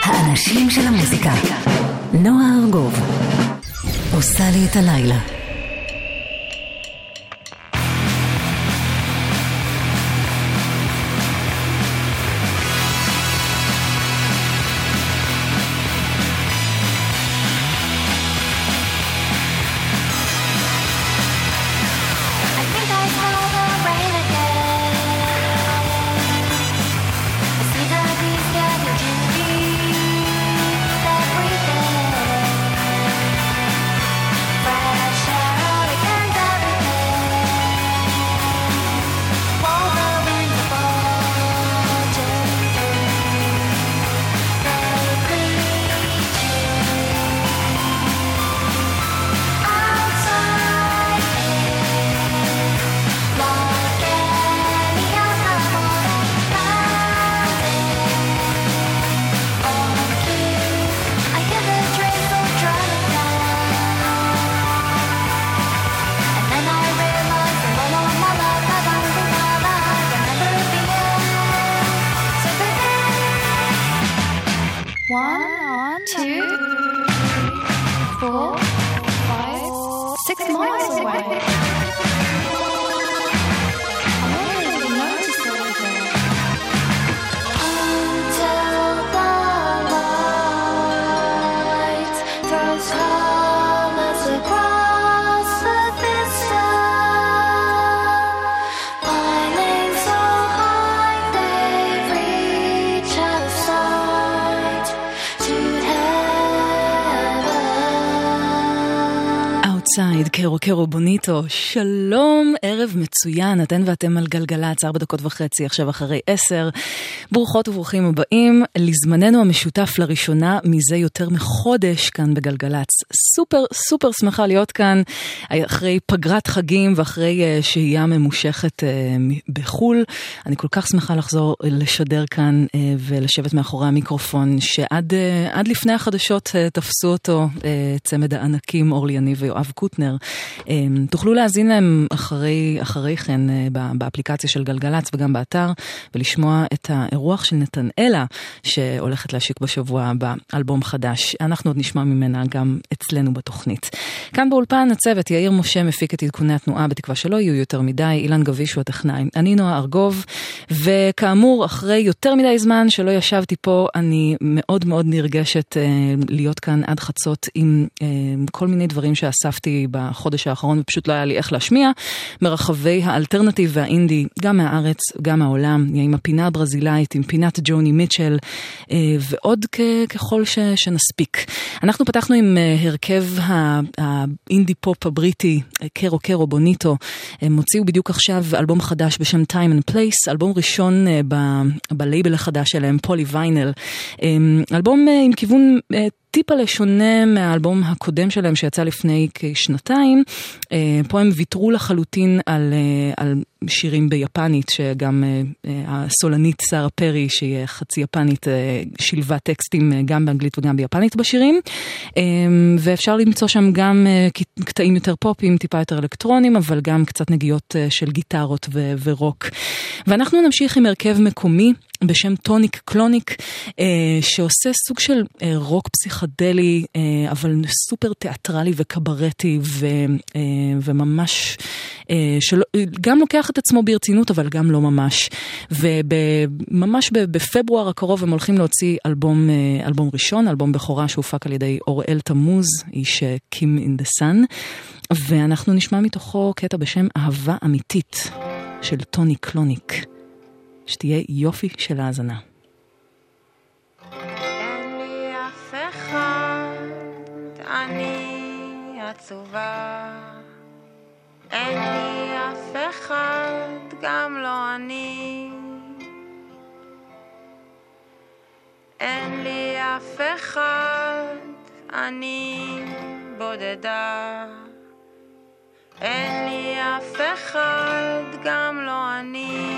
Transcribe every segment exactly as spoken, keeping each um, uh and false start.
האנשים של המוזיקה. נועה ארגוב עושה לי את הלילה. סייד, קרו קרו בוניטו, שלום, ערב מצוין, אתן ואתם על גלגלץ, ארבע דקות וחצי, עכשיו אחרי עשר, ברוכות וברוכים הבאים, לזמננו המשותף לראשונה, מזה יותר מחודש כאן בגלגלץ, סופר סופר שמחה להיות כאן, אחרי פגרת חגים ואחרי שהייה ממושכת בחול, אני כל כך שמחה לחזור לשדר כאן ולשבת מאחורי המיקרופון, שעד עד לפני החדשות תפסו אותו צמד הענקים אורלי יניב ויואב קוטנר. תוכלו להזין להם אחרי, אחרי כן באפליקציה של גלגלץ וגם באתר, ולשמוע את האירוח של נתנאלה שהולכת להשיק בשבוע הבא אלבום חדש. אנחנו עוד נשמע ממנה גם אצלנו בתוכנית. כאן באולפן הצוות יאיר משה מפיק את עדכוני התנועה, בתקווה שלא יהיו יותר מדי, אילן גביש הוא הטכנאי, אני נועה ארגוב, וכאמור אחרי יותר מדי זמן שלא ישבתי פה, אני מאוד מאוד נרגשת להיות כאן עד חצות עם כל מיני דברים שאספתי בחודש האחרון, ופשוט לא היה לי איך להשמיע, מרחבי האלטרנטיב והאינדי, גם מהארץ, גם מהעולם, עם הפינה הברזילאית, עם פינת ג'וני מיטשל, ועוד ככל ש, שנספיק. אנחנו פתחנו עם הרכב האינדי פופ הבריטי, קרו קרו בוניטו, הם הוציאו בדיוק עכשיו אלבום חדש בשם Time and Place, אלבום ראשון ב- בלייבל החדש שלהם, פולי ויינל, אלבום עם כיוון טיפה לשונה מהאלבום הקודם שלהם שיצא לפני כשנתיים. פה הם ויתרו לחלוטין על, על שירים ביפנית, שגם הסולנית סארה פרי, שהיא חצי יפנית, שילבה טקסטים גם באנגלית וגם ביפנית בשירים. ואפשר למצוא שם גם קטעים יותר פופים, טיפה יותר אלקטרונים, אבל גם קצת נגיעות של גיטרות ו- ורוק. ואנחנו נמשיך עם הרכב מקומי, בשם טוניק קלוניק, שעושה סוג של רוק פסיכדלי, אבל סופר תיאטרלי וקברטי, וממש, גם לוקח את עצמו ברצינות, אבל גם לא ממש. וממש בפברואר הקרוב הם הולכים להוציא אלבום, אלבום ראשון, אלבום בכורה שהופק על ידי אוראל תמוז, איש קים אין דה סאן, ואנחנו נשמע מתוכו קטע בשם אהבה אמיתית, של טוניק קלוניק. שתהיה יופי של האזנה. אין לי אף אחד, אני עצובה. אין לי אף אחד, גם לא אני. אין לי אף אחד, אני בודדה. אין לי אף אחד, גם לא אני.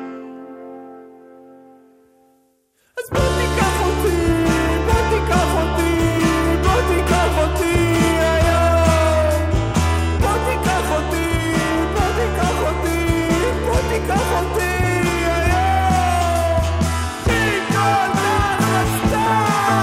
אז בוא תיקח אותי, בוא תיקח אותי, בוא תיקח אותי היום. בוא תיקח אותי, בוא תיקח אותי, בוא תיקח אותי היום. כי כל כך רצתה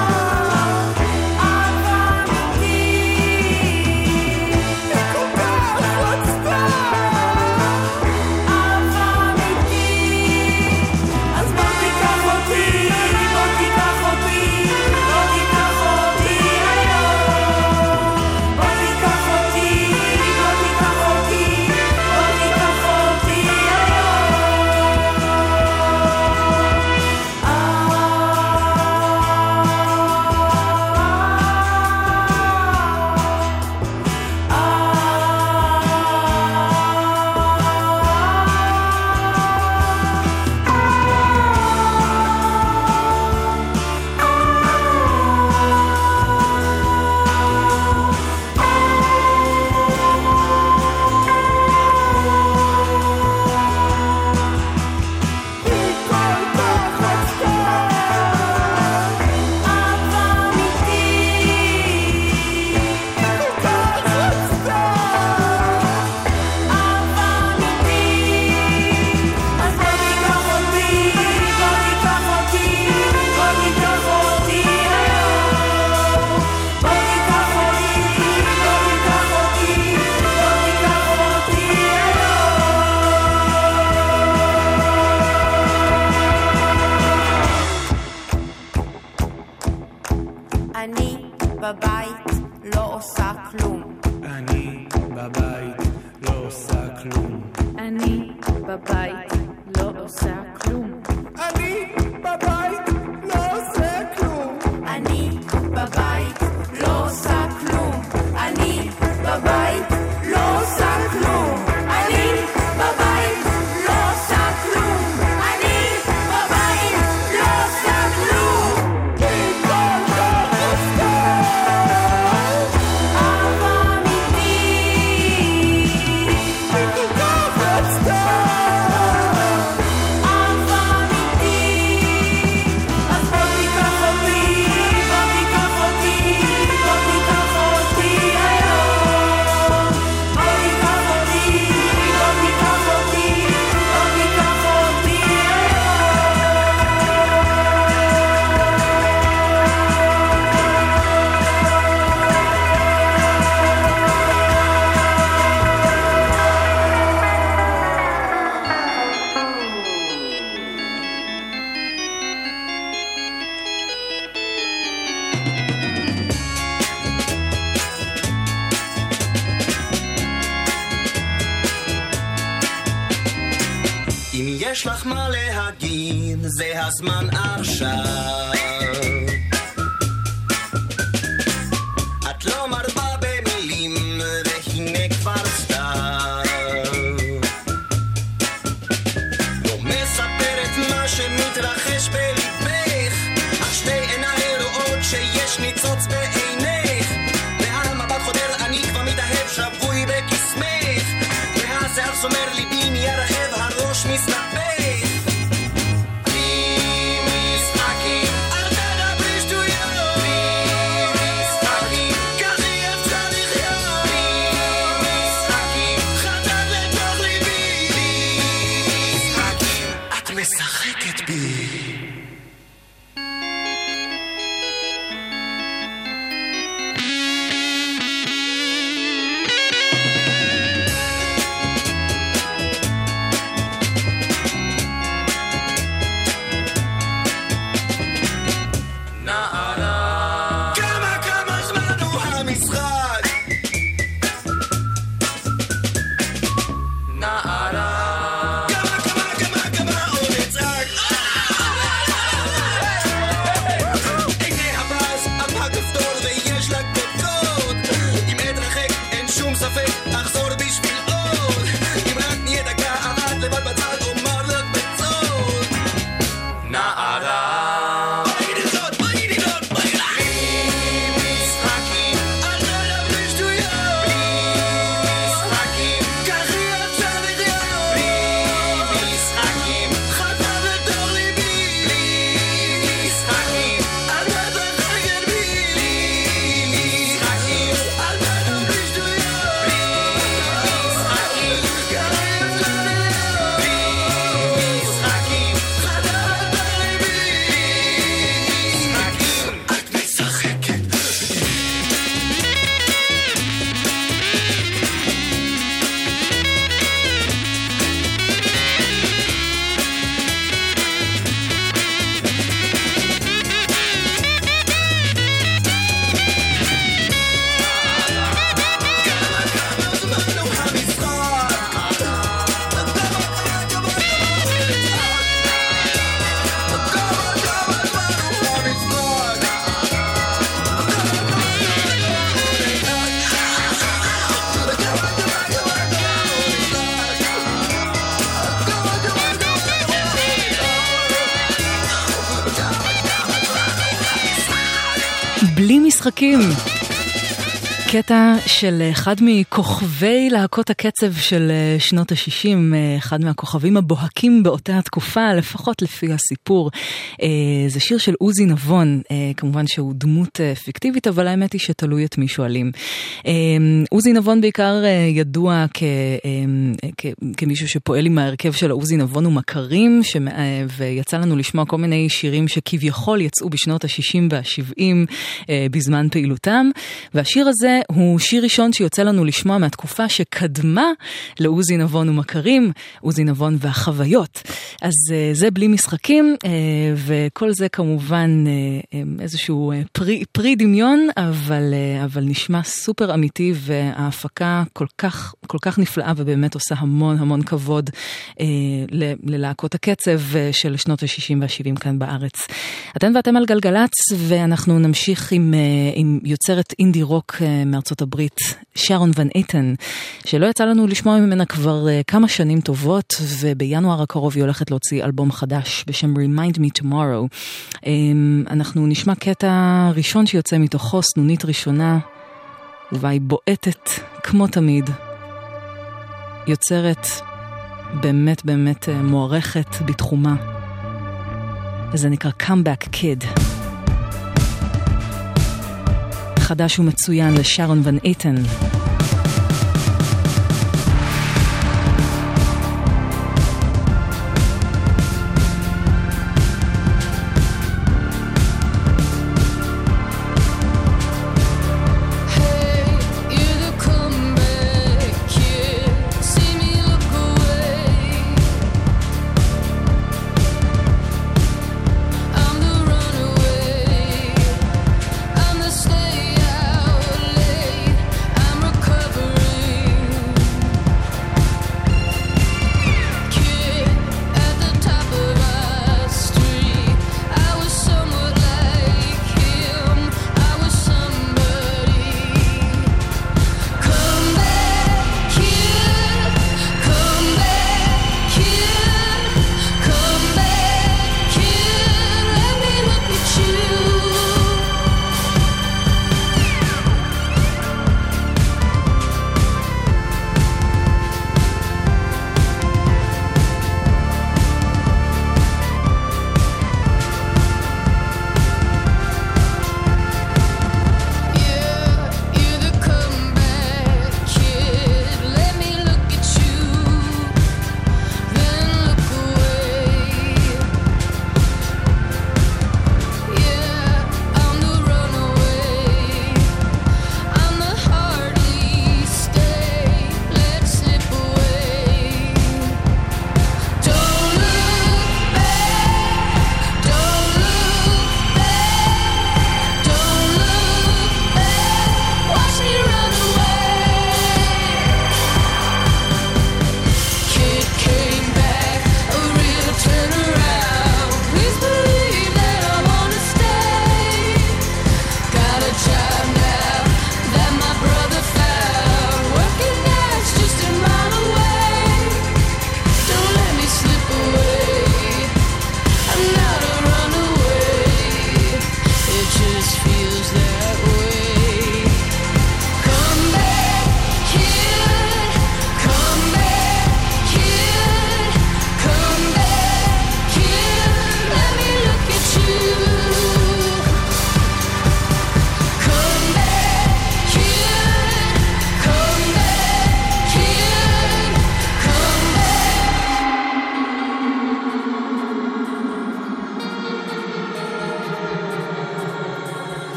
אני בבית לא עושה כלום. אני בבית לא עושה כלום. אני בבית לא עושה כלום. אני בבית לא עושה כלום. אני בבית לא עושה כלום. אני בבית לא עושה כלום. אני בבית לא עושה כלום. אני בבית לא עושה כלום. מכל כך רצתה אהבה אמיתית. מכל כך רצתה אהבה אמיתית. אז בוא תיקח אותי, בוא תיקח אותי, בוא תיקח אותי היום. בוא תיקח אותי, בוא תיקח אותי, בוא תיקח אותי אם יש לך מה להגיד, זה הזמן עכשיו. את לא מרבה במילים, והנה כבר סתיו. לא מספרת מה שמתרחש בליבך, אך שתי עיניי רואות שיש ניצוץ בעינך. והמבט חודר, אני כבר מתאהב, שבוי בקסמך. והשיער סומר ליבי נהיה רעב, הראש מסתפך. בלי משחקים, אל תדברי שטויות. בלי משחקים, ככה אפשר לחיות. בלי משחקים, חדר לתוך ליבי. בלי משחקים, את משחקת בי. כמה כמה זמן הוא המשחק? נערה. כמה כמה כמה כמה עוד נצעק? הנה הפרס על הכפתור ויש לה קודקוד. אם אתרחק אין שום ספק אחזור בשביל עוד. אם רק נהיה דקה אחת לבד בצד אומר לך בצוד. נערה. בלי משחקים. קטע של אחד מכוכבי להקות הקצב של שנות ה-שישים, אחד מהכוכבים הבוהקים באותה התקופה, לפחות לפי הסיפור. זה שיר של עוזי נבון, כמובן שהוא דמות פיקטיבית, אבל האמת היא שתלוי את מי שואלים. עוזי נבון בעיקר ידוע כ... כ... כמישהו שפועל עם ההרכב של עוזי נבון ומכרים, ש... ויצא לנו לשמוע כל מיני שירים שכביכול יצאו בשנות ה-שישים וה-שבעים בזמן פעילותם, והשיר הזה הזה הוא שיר ראשון שיוצא לנו לשמוע מהתקופה שקדמה לעוזי נבון ומכרים, עוזי נבון והחוויות. אז זה בלי משחקים, וכל זה כמובן איזשהו פרי, פרי דמיון, אבל, אבל נשמע סופר אמיתי, וההפקה כל כך, כל כך נפלאה, ובאמת עושה המון המון כבוד ללהקות הקצב של שנות ה-שישים וה-שבעים כאן בארץ. אתם ואתם על גלגלץ, ואנחנו נמשיך עם, עם יוצרת אינדי רוק מארצות הברית, שרון ון אייטן, שלא יצא לנו לשמוע ממנה כבר כמה שנים טובות, ובינואר הקרוב היא הולכת להוציא אלבום חדש בשם Remind Me Tomorrow. אנחנו נשמע קטע ראשון שיוצא מתוכו, סנונית ראשונה, ובה היא בועטת כמו תמיד. יוצרת באמת באמת מוערכת בתחומה. זה נקרא Comeback Kid. חדש ומצוין לשרון ון אייטן.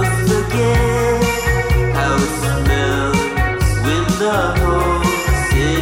the whole city.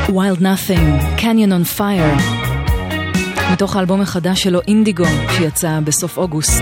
Wild Nothing, Canyon on Fire, מתוך האלבום החדש שלו אינדיגו שיצא בסוף אוגוסט.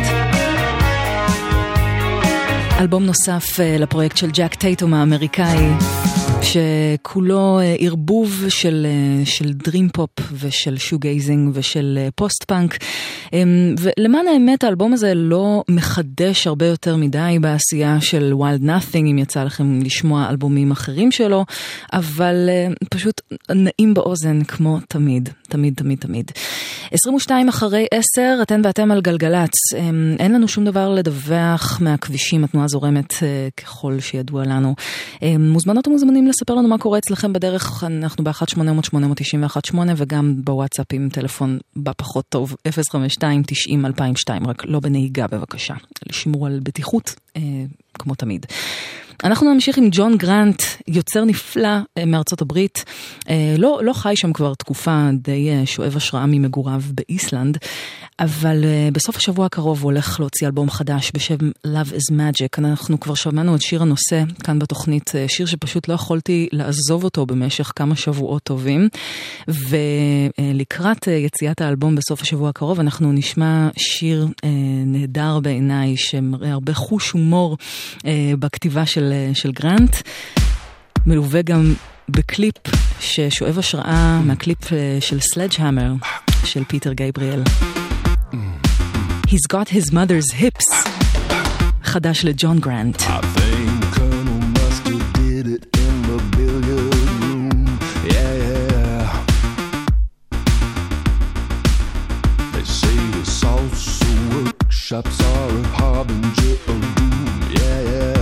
אלבום נוסף לפרויקט של ג'ק טייטום האמריקאי, שכולו ערבוב של, של דרים פופ ושל שוגייזינג ושל פוסט פאנק. ולמען האמת האלבום הזה לא מחדש הרבה יותר מדי בעשייה של Wild Nothing, אם יצא לכם לשמוע אלבומים אחרים שלו, אבל פשוט נעים באוזן כמו תמיד, תמיד, תמיד, תמיד. עשרים ושתיים אחרי עשר, אתן ואתם על גלגלץ. אין לנו שום דבר לדווח מהכבישים, התנועה זורמת ככל שידוע לנו. מוזמנות ומוזמנים לספר לנו מה קורה אצלכם בדרך, אנחנו ב-אחת שמונה אפס אפס שמונה תשע אחת שמונה וגם בוואטסאפ עם טלפון בפחות טוב, אפס חמש שתיים תשעים אלפיים ושתיים, רק לא בנהיגה בבקשה, לשמור על בטיחות אה, כמו תמיד. אנחנו נמשיך עם ג'ון גרנט, יוצר נפלא מארצות הברית, לא, לא חי שם כבר תקופה, די שואב השראה ממגוריו באיסלנד, אבל בסוף השבוע הקרוב הוא הולך להוציא אלבום חדש בשם Love is Magic. אנחנו כבר שמענו את שיר הנושא כאן בתוכנית, שיר שפשוט לא יכולתי לעזוב אותו במשך כמה שבועות טובים, ולקראת יציאת האלבום בסוף השבוע הקרוב אנחנו נשמע שיר נהדר בעיניי, שמראה הרבה חוש הומור בכתיבה של של גרנט, מלווה גם בקליפ ששואב השראה מהקליפ של סלדג'המר של פיטר גייבריאל. He's got his mother's hips. חדש לג'ון גרנט. I think Colonel Mustard did it in the billiard room. Yeah, yeah. They say the salsa workshops are a harbinger of doom. Yeah, yeah.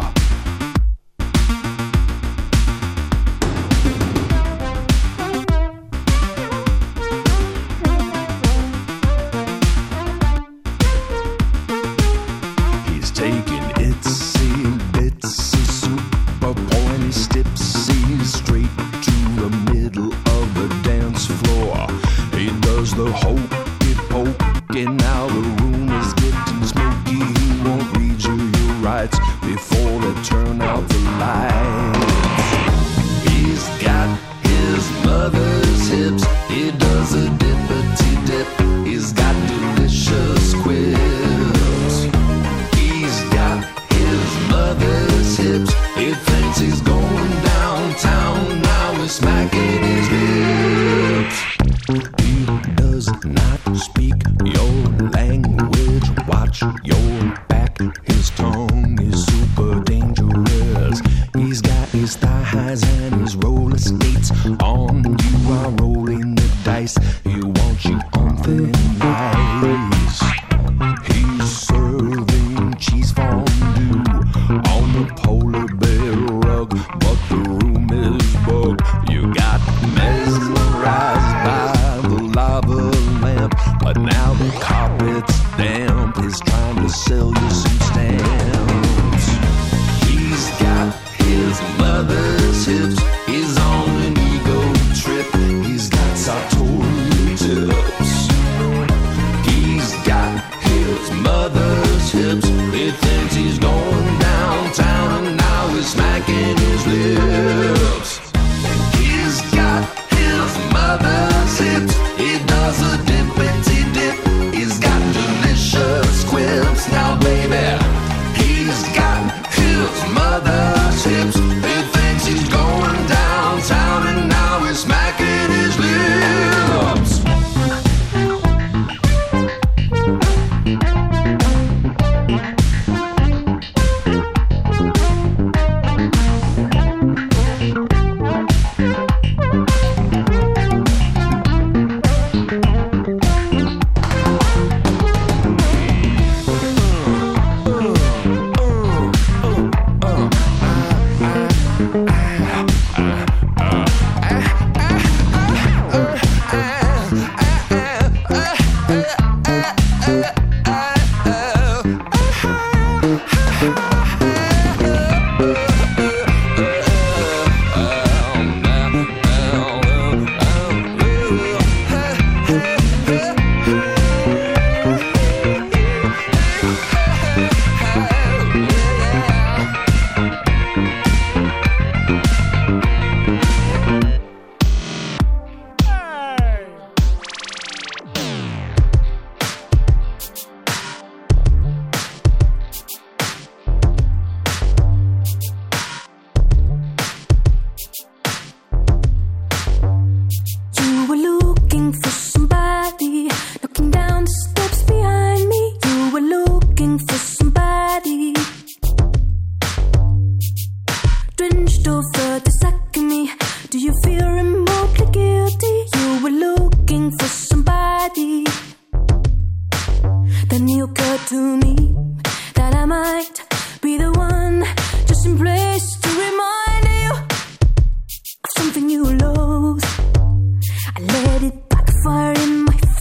The hokey pokey, now the room is getting smoky. He won't read you your rights before they turn out the lights. He's got his mother's hips, he does a dippity dip. He's got delicious quips. He's got his mother's hips, he thinks he's going downtown, now he's smacking his lips. Does not speak your language. Watch your back. His tongue is super dangerous. He's got his thigh highs and his roller skates on. You are rolling the dice. He wants you on thin ice. He's serving cheese fondue on the polar bear rug, but the room is bugged. You got mesmerized by lava lamp, but now the carpet's damp. He's trying to sell you some stamps. He's got his mother's hips, he's on an ego trip. He's got sartorial tips. He's got his mother's hips, he thinks he's going downtown, and now he's smacking his lips.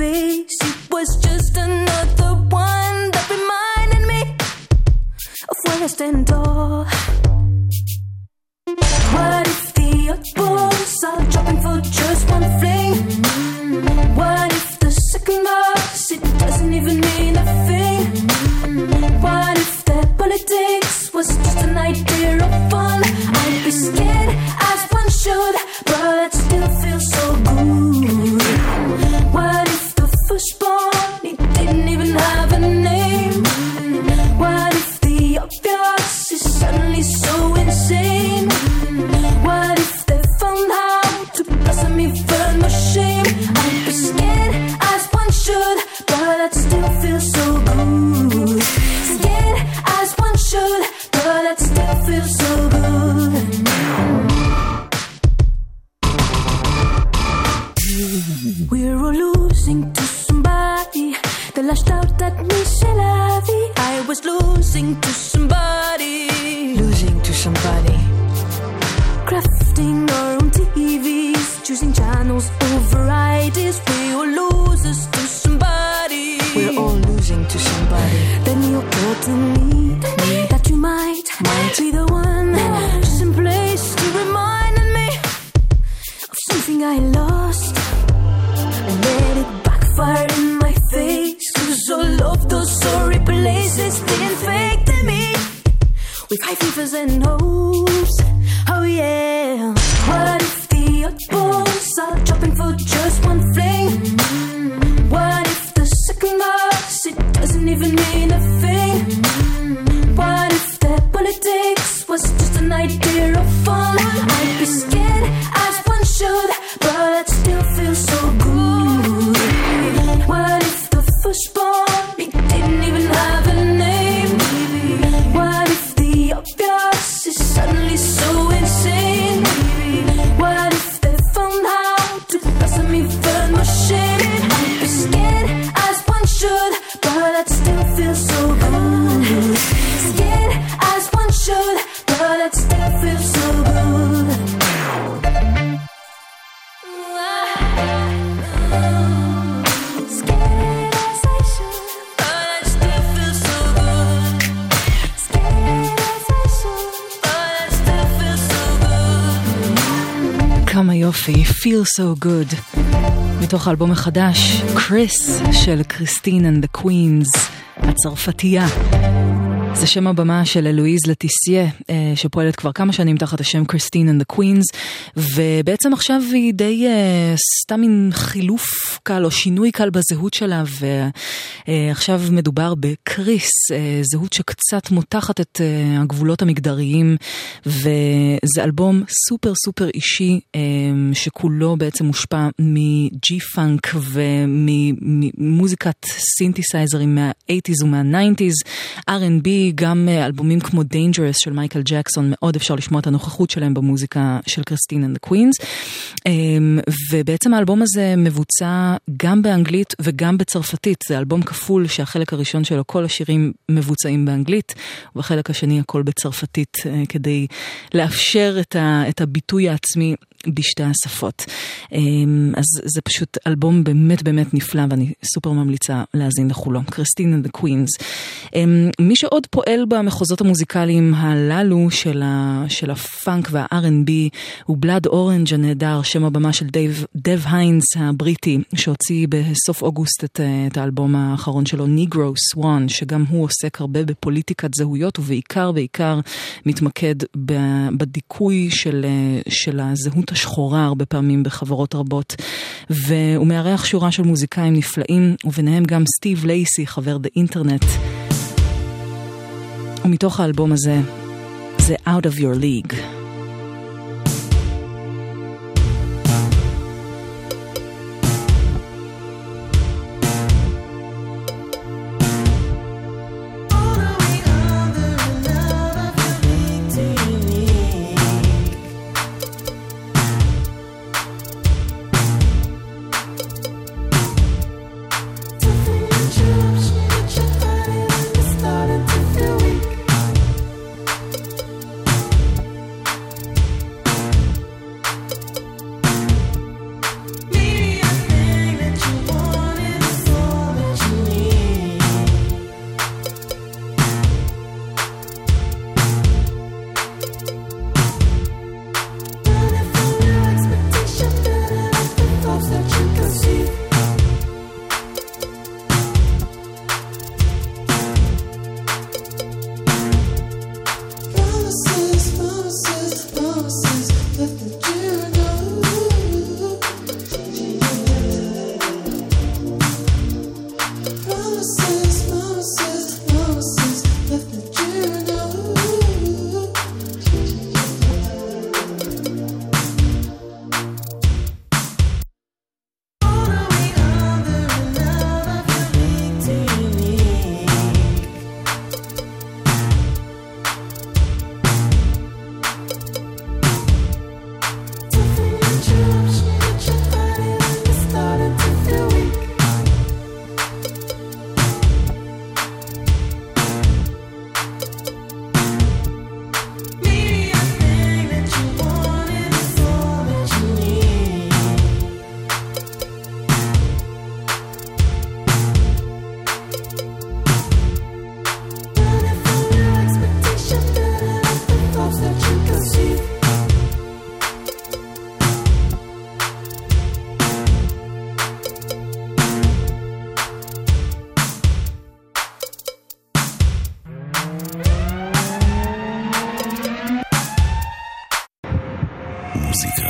face. It was just another one that reminded me of where I stand tall. What if the oddballs are dropping for just one fling? What if the second verse, it doesn't even mean a thing? What if their politics was just an idea of fun? I'd be scared as one should, but I'd still feel so good. What if the firstborn, it didn't even have a name? What if the obvious is suddenly so insane? What if they found how to blossom me for no shame? I'd be scared as one should, but I'd still feel so good. Scared as one should, but I'd still feel so good. We're all losing to somebody. They lashed out at me, c'est la vie. I was losing to somebody. Losing to somebody. Crafting our own T Vs, choosing channels over ideas. We're all losers to somebody. We're all losing to somebody. Then you're telling me that you might, might be the one, just in place to remind me of something I lost. And let it backfire in my face. Cause all of those sorry places didn't fake to me. With high fevers and hopes. Oh yeah. What if the oddballs are dropping for just one fling? What if the second verse, it doesn't even mean a thing? What if their politics was just an idea of fun? I'd be scared as one should, but I'd still feel so good. What if the firstborn, it didn't even have a name? What if the obvious is suddenly so insane? What if they found how to blossom me for no shame? I'd be scared as one should, but I'd still feel so good. Scared as one should, but I'd still feel so good. Scared as I should, but I'd still feel so good. Scared as I should, but I'd still feel so good. כמה יופי, Feel So Good, מתוך האלבום החדש, קריס של קריסטין and the Queens, הצרפתייה. זה שם הבמה של אלואיז לטיסיה, שפועלת כבר כמה שנים תחת השם קריסטין and the Queens, ובעצם עכשיו היא די סתם מין חילוף קל או שינוי קל בזהות שלה, ועכשיו מדובר בקריס, זהות שקצת מותחת את הגבולות המגדריים, וזה אלבום סופר סופר אישי, שכולו בעצם מושפע מג'י פאנק וממוזיקת סינתסייזרים מה-שמונים ומה-תשעים, אר אנד בי, גם אלבומים כמו Dangerous של מייקל ג'קסון, מאוד אפשר לשמוע את הנוכחות שלהם במוזיקה של קריסטין and the Queens, ובעצם האלבום הזה מבוצע גם באנגלית וגם בצרפתית. זה אלבום כפול שהחלק הראשון שלו כל השירים מבוצעים באנגלית, ובחלק השני הכל בצרפתית, כדי לאפשר את, ה, את הביטוי העצמי בשתי השפות. אז זה פשוט אלבום באמת באמת נפלא, ואני סופר ממליצה להאזין לכולו. קריסטין and the Queens. מי שעוד פועל במחוזות המוזיקליים הללו של, ה, של הפאנק וה-אר אנד בי הוא בלאד אורנג' הנהדר, שם הבמה של דייב, דב היינס הבריטי, שהוציא בסוף אוגוסט את, את האלבום האחרון שלו, ניגרו סוואן, שגם הוא עוסק הרבה בפוליטיקת זהויות, ובעיקר בעיקר מתמקד בדיכוי של, של הזהות השחורה הרבה פעמים בחברות רבות, והוא מארח שורה של מוזיקאים נפלאים, וביניהם גם סטיב לייסי, חבר דה אינטרנט. ומתוך האלבום הזה זה Out of Your League. Started to feel weak.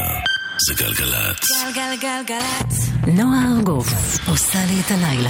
זה גלגלת. גלגלגלגלת. נועה ארגוב עושה לי את הלילה.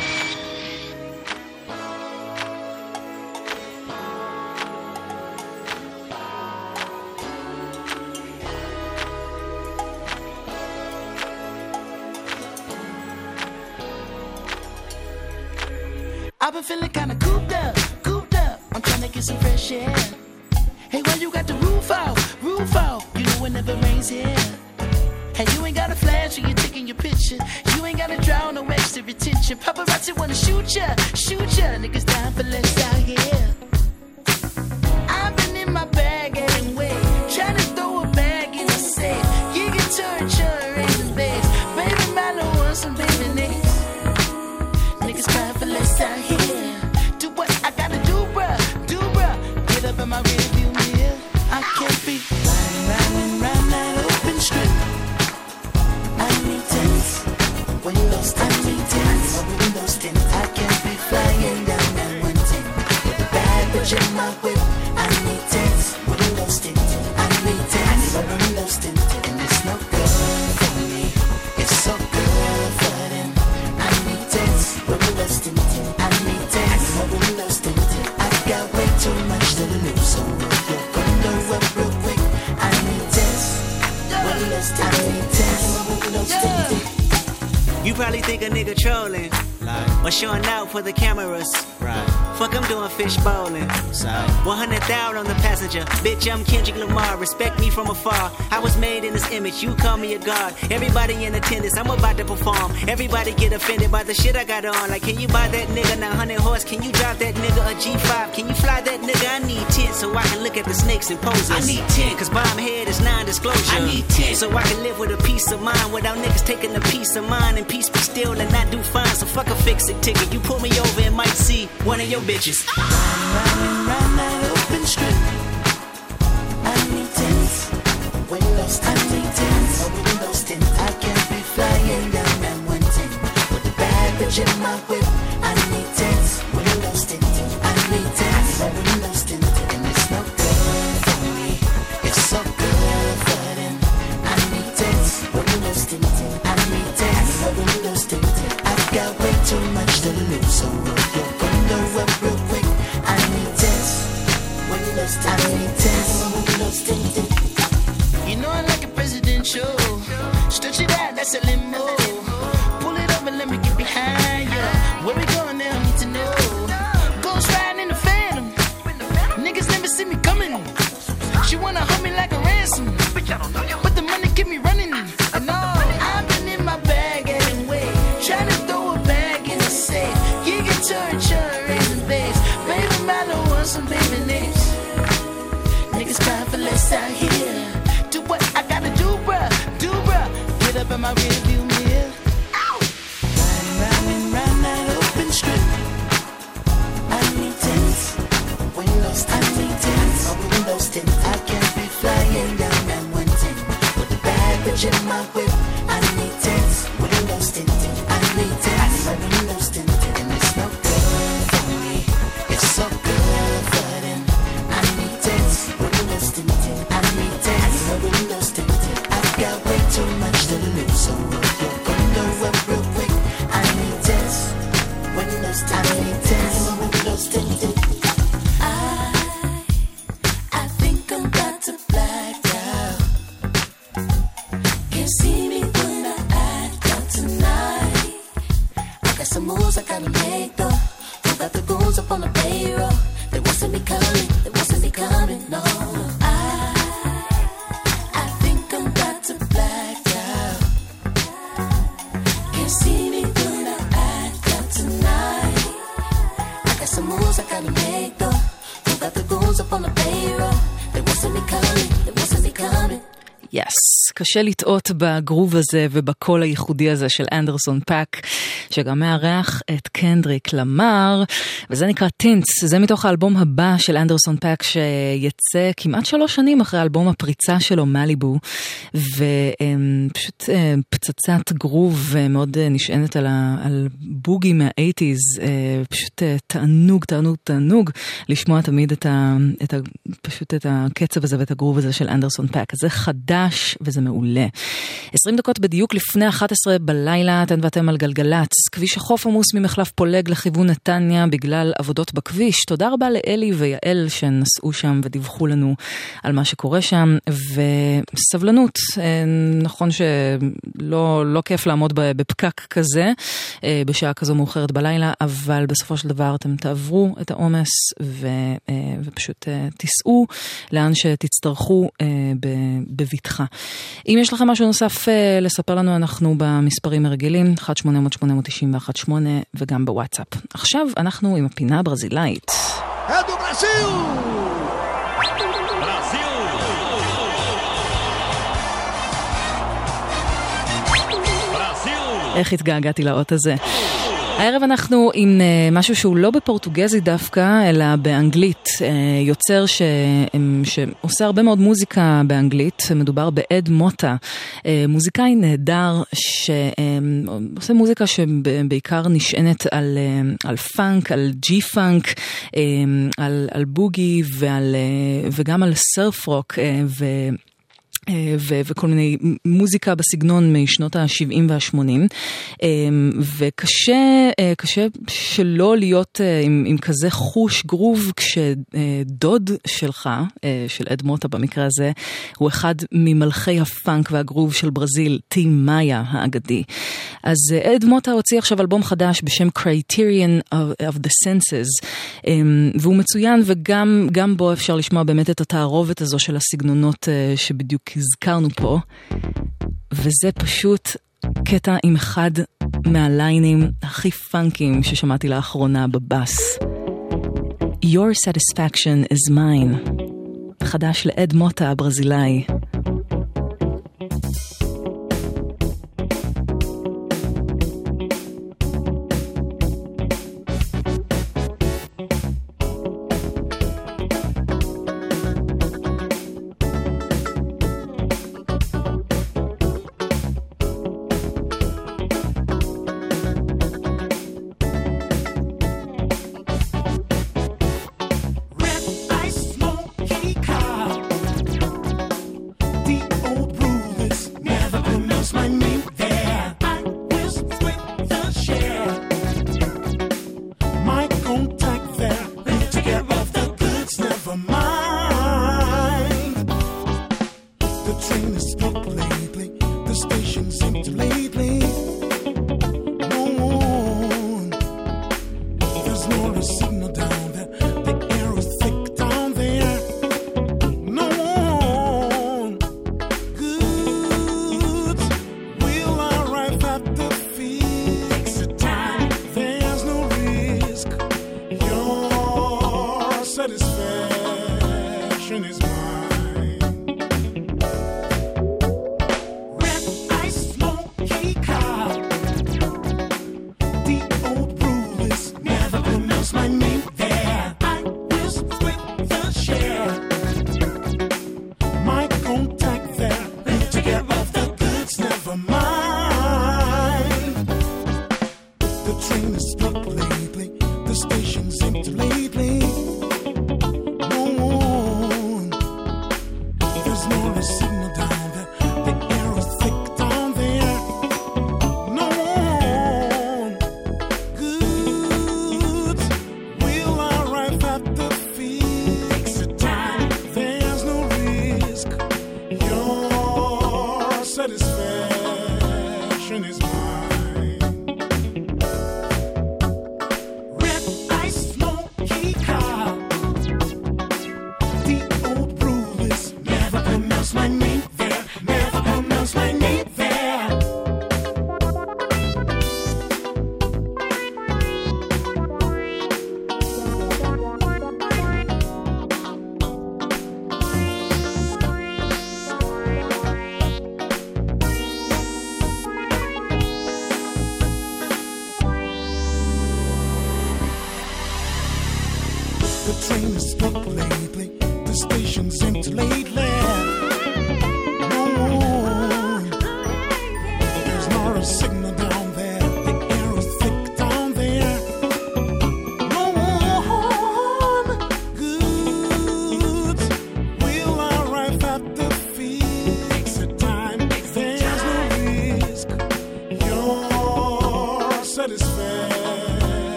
I've been feeling kinda cooped up, cooped up. I'm trying to get some fresh air. Hey, why you got the roof out, roof out? You know it never rains here. Hey, you ain't got a flash when you're taking your picture. You ain't got to draw no extra attention. Paparazzi wanna shoot ya, shoot ya. Niggas down for less out here. I've been in my bag anyway, trying to throw a bag in the safe. You can turn, turn, raise the bass. Baby, my little one, some baby names. Niggas crying for less out here. Do what I gotta do, bruh, do bruh. Get up in my rearview mirror. I can't be riding, riding, riding that open strip. I need tents, windows, I need tents, windows tint. I can't be flying down that one ten with a bad bitch in my whip. I need tents, windows tint. I need tents, windows tint, and it's no good for me. It's so good for them. I need tents, windows tint. I need tents, windows tint. I've got way too much to lose, so roll your window up real quick. I need tents, windows tint. I need tents, windows tint. You probably think a nigga trolling, like, or showing out for the cameras. Right. Fuck, I'm doing fish bowling. Sorry. one hundred thousand on the passenger. Bitch, I'm Kendrick Lamar. Respect me from afar. I was made in this image. You call me a god. Everybody in attendance. I'm about to perform. Everybody get offended by the shit I got on. Like, can you buy that nigga nine hundred horse? Can you drive that nigga a G five? Can you fly that nigga? I need ten so I can look at the snakes and poses. I need ten cause bomb head is non-disclosure. I need ten so I can live with a peace of mind without niggas taking a piece of mine and peace be still and not do fine. So fuck a fix-it ticket. You pull me over and might see one of your bitches. Riding, riding, riding that open strip. I need tents, windows, I need tents, windows tint. I can't be flying down that one ten with a bad bitch in my whip. I need tents, windows tint. I need tents, windows tint, and it's no good for me. It's so good for them. I need tents, windows tint. I need tents, windows tint. I've got way too much to lose, so roll your window up real quick. I need tents, windows tint. I need tents, windows tint. You know I like a presidential. Stretch it out, that's a limo. Pull it up and let me get behind ya. Where we going now, I need to know. Ghost riding in the Phantom. Niggas never see me coming. She wanna hold me like a ransom, but the money keep me running. And all, I've been in my bag anyway, trying to throw a bag in the safe. You can turn, turn, raise the bass. Baby, my little one, some baby names. Niggas crying for less out here. Do what I gotta do, bruh, do bruh. Get up in my rearview mirror. Riding, riding, riding that open strip. I need tents, windows, I need tents, windows tint. I can't be flying down that one ten with a bad bitch in my whip. I need tents, windows tint. I need tents, windows tint, and it's no good for me. It's so good for them. I need tents, windows tint. I need tents, windows tint. I've got way too much to lose, so roll your window up real quick. I need tents, windows tint. I need tents, windows tint. I, I think I'm about to black out. Can't see me when I act out tonight. I got some moves I gotta make though. Who got the goons up on the payroll? They won't see me coming, they won't see me coming, no. I, I think I'm about to black out. Can't see me when I act out tonight. I got some moves I gotta make though. Who got the goons up on the payroll? They won't see me coming, they won't see me coming. יס, yes, קשה לטעות בגרוב הזה ובקול הייחודי הזה של אנדרסון פאק, שגם מארח את קנדריק למר, וזה נקרא טינטס. זה מתוך האלבום הבא של אנדרסון פאק, שיצא כמעט שלוש שנים אחרי האלבום הפריצה שלו, מליבו, ופשוט פצצת גרוב מאוד נשענת על, על בוגי מה-אייטיז, פשוט תענוג, תענוג, תענוג, לשמוע תמיד את ה, את ה, פשוט את הקצב הזה ואת הגרוב הזה של אנדרסון פאק. זה חדש חדש, וזה מעולה. עשרים דקות בדיוק לפני אחת עשרה בלילה, אתן ואתם על גלגלץ. כביש החוף עמוס ממחלף פולג לכיוון נתניה בגלל עבודות בכביש. תודה רבה לאלי ויעל שנסעו שם ודיווחו לנו על מה שקורה שם, וסבלנות. נכון שלא לא כיף לעמוד בפקק כזה, בשעה כזו מאוחרת בלילה, אבל בסופו של דבר אתם תעברו את העומס ו, ופשוט תיסעו לאן שתצטרכו בביטחה. אם יש לכם משהו נוסף לספר לנו, אנחנו במספרים הרגילים, אחת שמונה אפס אפס שמונה תשע אחת שמונה, וגם בוואטסאפ. עכשיו אנחנו עם הפינה הברזילאית. אדו ברזיל! איך התגעגעתי לאות הזה. הערב אנחנו עם משהו שהוא לא בפורטוגזי דווקא, אלא באנגלית. יוצר ש... שעושה הרבה מאוד מוזיקה באנגלית. מדובר באד מוטה, מוזיקאי נהדר שעושה מוזיקה שבעיקר נשענת על, על פאנק, על ג'י פאנק, על, על בוגי ועל, וגם על סרף רוק ו... ו- וכל מיני מוזיקה בסגנון משנות ה-שבעים וה-שמונים, וקשה קשה שלא להיות עם, עם כזה חוש גרוב כשדוד שלך, של אד מוטה במקרה הזה, הוא אחד ממלכי הפאנק והגרוב של ברזיל, טים מאיה האגדי. אז אד מוטה הוציא עכשיו אלבום חדש בשם Criterion of, of the Senses, והוא מצוין, וגם גם בו אפשר לשמוע באמת את התערובת הזו של הסגנונות שבדיוק הזכרנו פה, וזה פשוט קטע עם אחד מהליינים הכי פאנקים ששמעתי לאחרונה בבאס. Your satisfaction is mine. חדש לאד מוטה הברזילאי.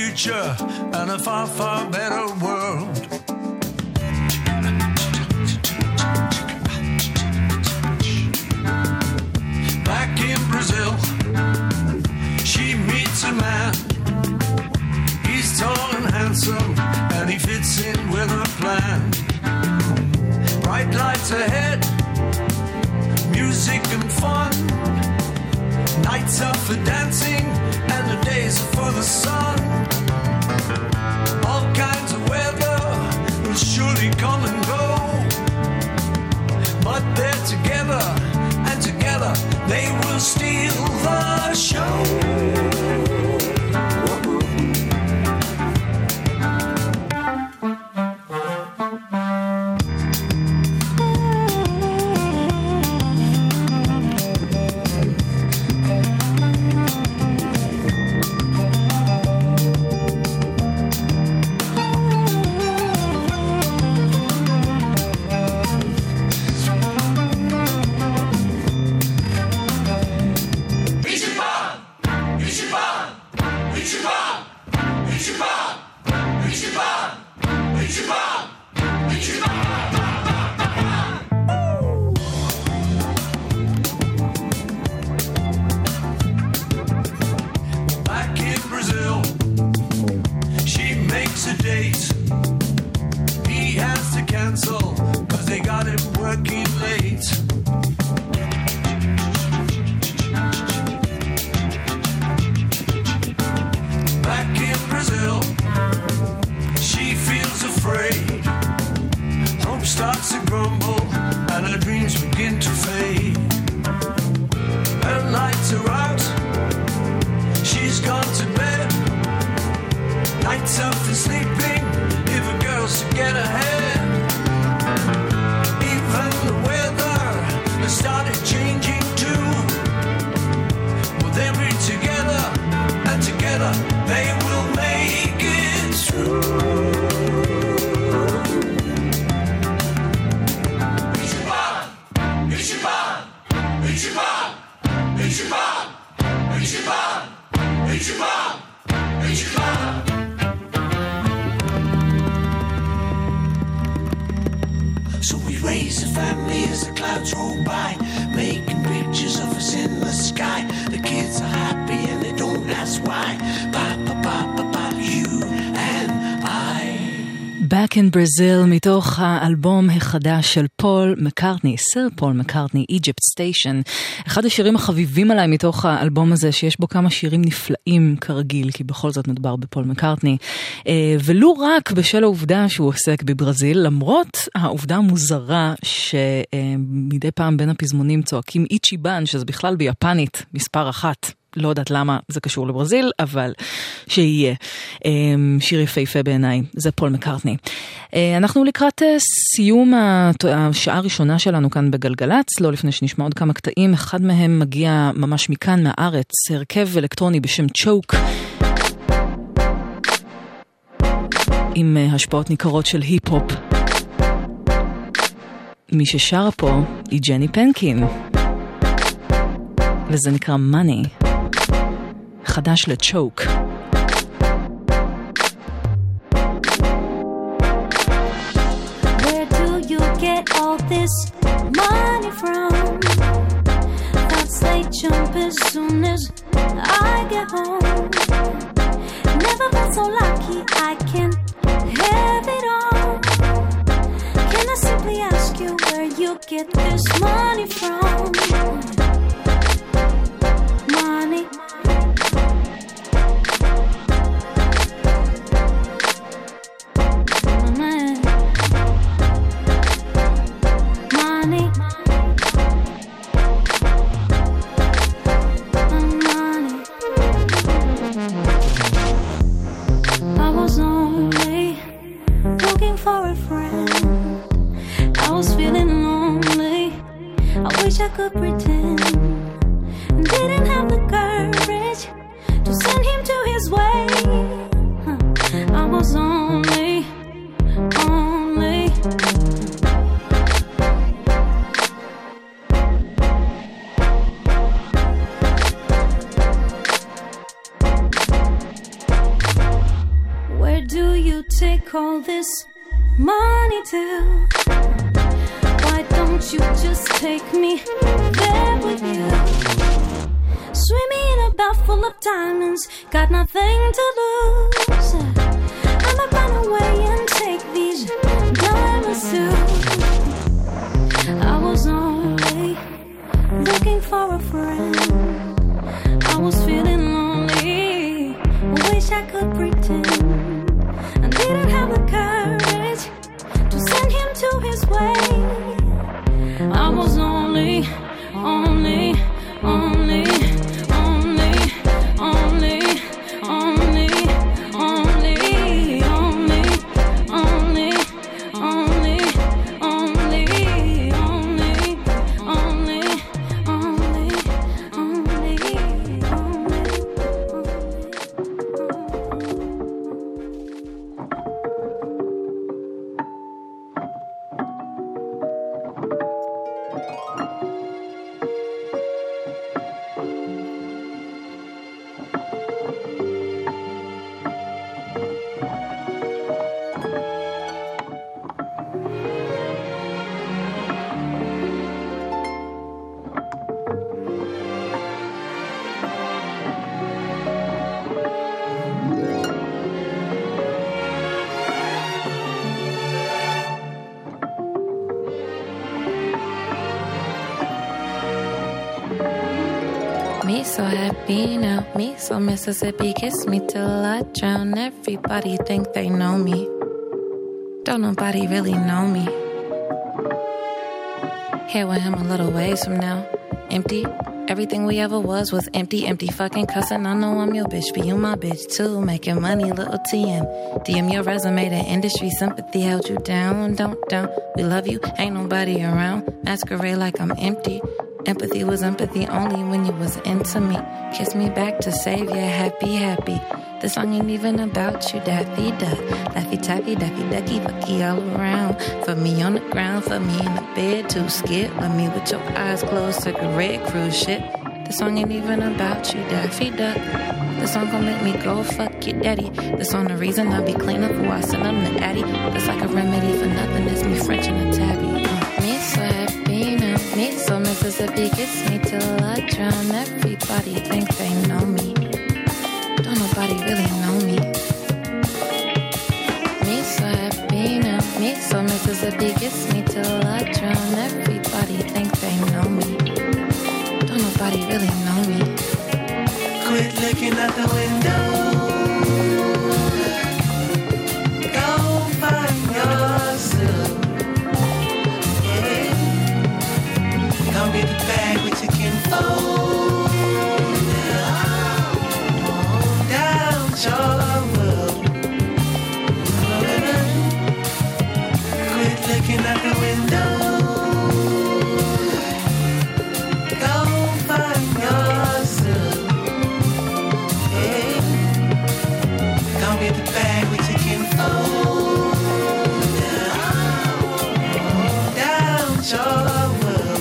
future and a far, far better world. Back in Brazil, she meets a man. He's tall and handsome, and he fits in with her plan. Bright lights ahead, music and fun. Nights are for dancing, and the days are for the sun. All kinds of weather will surely come and go, but they're together, and together they will steal the show. Back in Brazil, מתוך האלבום החדש של פול מקארטני, סר פול מקארטני, Egypt Station. אחד השירים החביבים עליי מתוך האלבום הזה, שיש בו כמה שירים נפלאים כרגיל, כי בכל זאת מדובר בפול מקארטני. ולו רק בשל העובדה שהוא עוסק בברזיל, למרות העובדה המוזרה שמדי פעם בין הפזמונים צועקים איצ'יבן, שזה בכלל ביפנית, מספר אחת. לא יודעת למה זה קשור לברזיל, אבל שיהיה. שיר יפהפה בעיניי, זה פול מקארטני. אנחנו לקראת סיום השעה הראשונה שלנו כאן בגלגלץ, לא לפני שנשמע עוד כמה קטעים, אחד מהם מגיע ממש מכאן מהארץ, הרכב אלקטרוני בשם צ'וק, עם השפעות ניכרות של היפ-הופ. מי ששרה פה היא ג'ני פנקין, וזה נקרא Money. חדש לצ'וק. Where do you get all this money from? Thoughts they jump as soon as I get home. Never been so lucky I can have it all. Can I simply ask you where you get this money from? Money. I could pretend, didn't have the courage to send him to his way. Huh. I was only, only call this money too? Why don't you just take me there with you? Swimming in a bath full of diamonds, got nothing to lose. I'ma run away and take these diamonds too. I was only looking for a friend. I was feeling lonely, wish I could pretend. I didn't have the courage to send him to his way. I was only, only, only, only, only, only, only, only, only, only, only, only, only, only, Me so happy now, me so Mississippi, kiss me till I drown. Everybody think they know me, don't nobody really know me. Here with him a little ways from now, empty. Everything we ever was was empty, empty fucking cussing. I know I'm your bitch, but you my bitch too. Making money, little T M. D M your resume, the industry sympathy held you down, don't down. We love you, ain't nobody around. Masquerade like I'm empty. Empathy was empathy only when you was into me. Kiss me back to save ya, happy, happy. The song ain't even about you, Daffy Duck. Laffy Taffy, Daffy Ducky, Fucky all around. For me on the ground, for me in the bed, too scared. Love me with your eyes closed, cigarette cruise shit. The song ain't even about you, Daffy Duck. The song gon' make me go fuck your daddy. The song the reason I be clean up before I send them to Addy. That's like a remedy for nothing, it's me French and a tabby. Uh, me so happy now, me so Mississippi, kiss me till I drown. Everybody think they know me, don't nobody really know me. Me so happy now, me so Mississippi, kiss me till I drown. Everybody think they know me, don't nobody really know me. Quit looking out the window. Go find yourself. Yeah. Come get the bag with your kinfolk. Down your world. Quit looking out the window. Go find yourself. Come get the bag with your kinfolk. Down your world.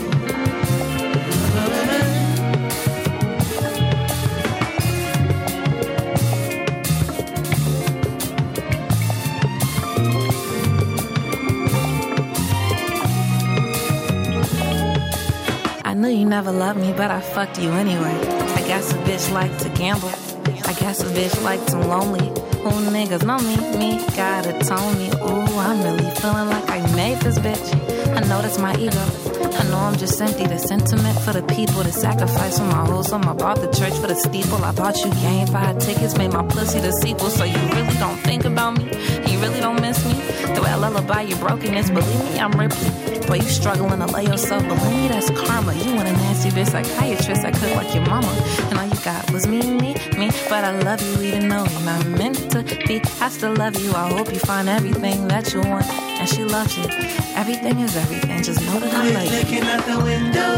I knew you never loved me, but I fucked you anyway. I guess a bitch like to gamble. I guess a bitch like to lonely. Who niggas know me? Me gotta tell me. Ooh, I'm really feeling like I made this bitch. I know that's my ego. I know I'm just empty. The sentiment for the people, the sacrifice for my hoes. So I bought the church for the steeple. I bought you game five tickets, made my pussy the sequel. So you really don't think about me? You really don't miss me? The way I lullaby your brokenness, believe me, I'm Ripley. Boy, you struggling to lay yourself, believe me, that's karma. You want a nasty bitch psychiatrist, I could like your mama. And all you got was me, me, me. But I love you even though you're not meant to be. I still love you, I hope you find everything that you want. And she loves you, everything is everything, just know that I love you. Looking out the window.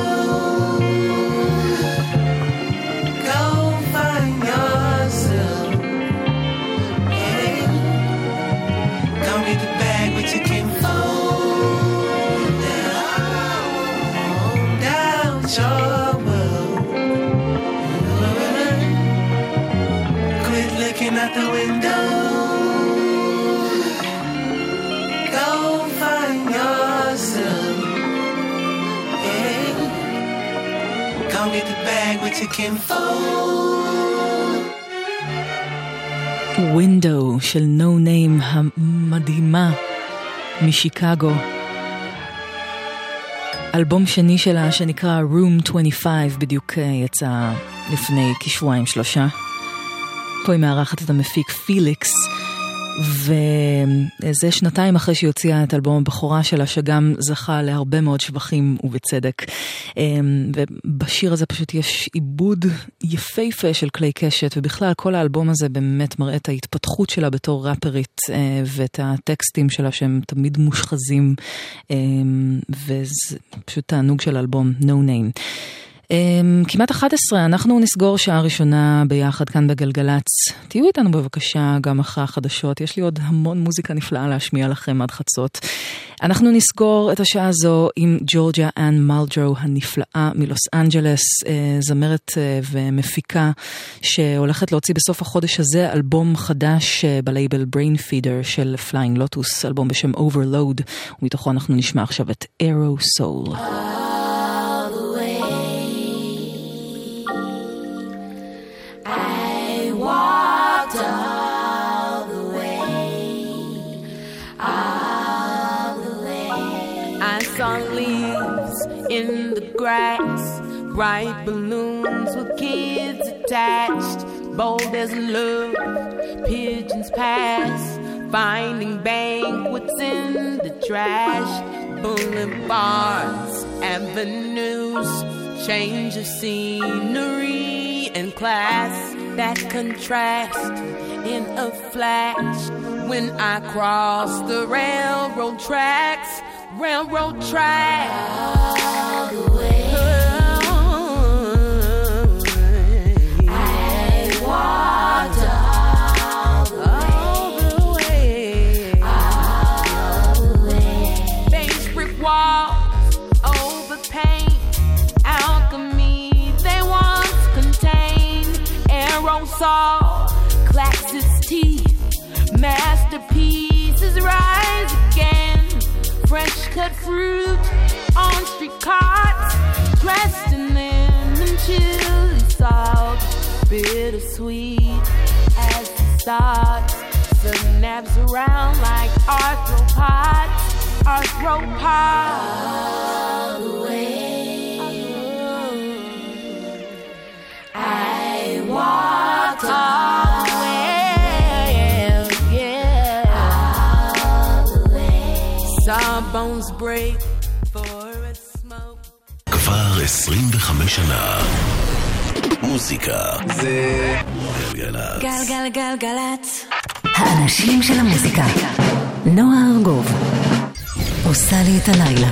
Go find yourself. Yeah. Come get the bag with your kinfolk. Down your world. Quit looking out the window. Come get the bag with your kinfolk. Window של No Name המדהימה משיקגו. אלבום שני שלה שנקרא Room עשרים וחמש בדיוק יצא לפני כשבועיים שלושה. פה היא מארחת את המפיק פיליקס, וזה שנתיים אחרי שהיא הוציאה את אלבום הבכורה שלה, שגם זכה להרבה מאוד שבחים ובצדק. ובשיר הזה פשוט יש עיבוד יפהפה של כלי קשת, ובכלל כל האלבום הזה באמת מראה את ההתפתחות שלה בתור ראפרית, ואת הטקסטים שלה שהם תמיד מושחזים, וזה פשוט תענוג של אלבום No Name. כמעט אחת עשרה, אנחנו נסגור שעה ראשונה ביחד כאן בגלגלץ. תהיו איתנו בבקשה גם אחרי החדשות, יש לי עוד המון מוזיקה נפלאה להשמיע לכם עד חצות. אנחנו נסגור את השעה הזו עם ג'ורג'יה אן מלג'רו הנפלאה מלוס אנג'לס, זמרת ומפיקה שהולכת להוציא בסוף החודש הזה אלבום חדש בלייבל Brain Feeder של Flying Lotus, אלבום בשם Overload, ומתוכו אנחנו נשמע עכשיו את Arrow Soul. Walked all the way, all the way. I saw leaves in the grass, bright balloons with kids attached, bold as love, pigeons pass, finding banquets in the trash, boulevards, avenues, change of scenery and class that contrast in a flash when I cross the railroad tracks, railroad tracks. All the way, I walked all the way, all the way. Beige brick walls over paint, alchemy they once contained. Arrow saw, clacks its teeth, masterpieces rise again. Fresh cut fruit on street carts, dressed in lemon chili salt, bittersweet as the stars. Synapse around like arthropods, arthropods. All the way, I walked all the way, yeah, all the way. Saw bones break for a smoke. כבר עשרים וחמש שנה. מוזיקה זה גלגלצ. גלגלגלגלצ. האנשים של המוזיקה. נועה ארגוב עושה לי את הלילה.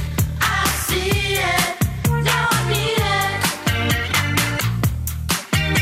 I see it, now I need it.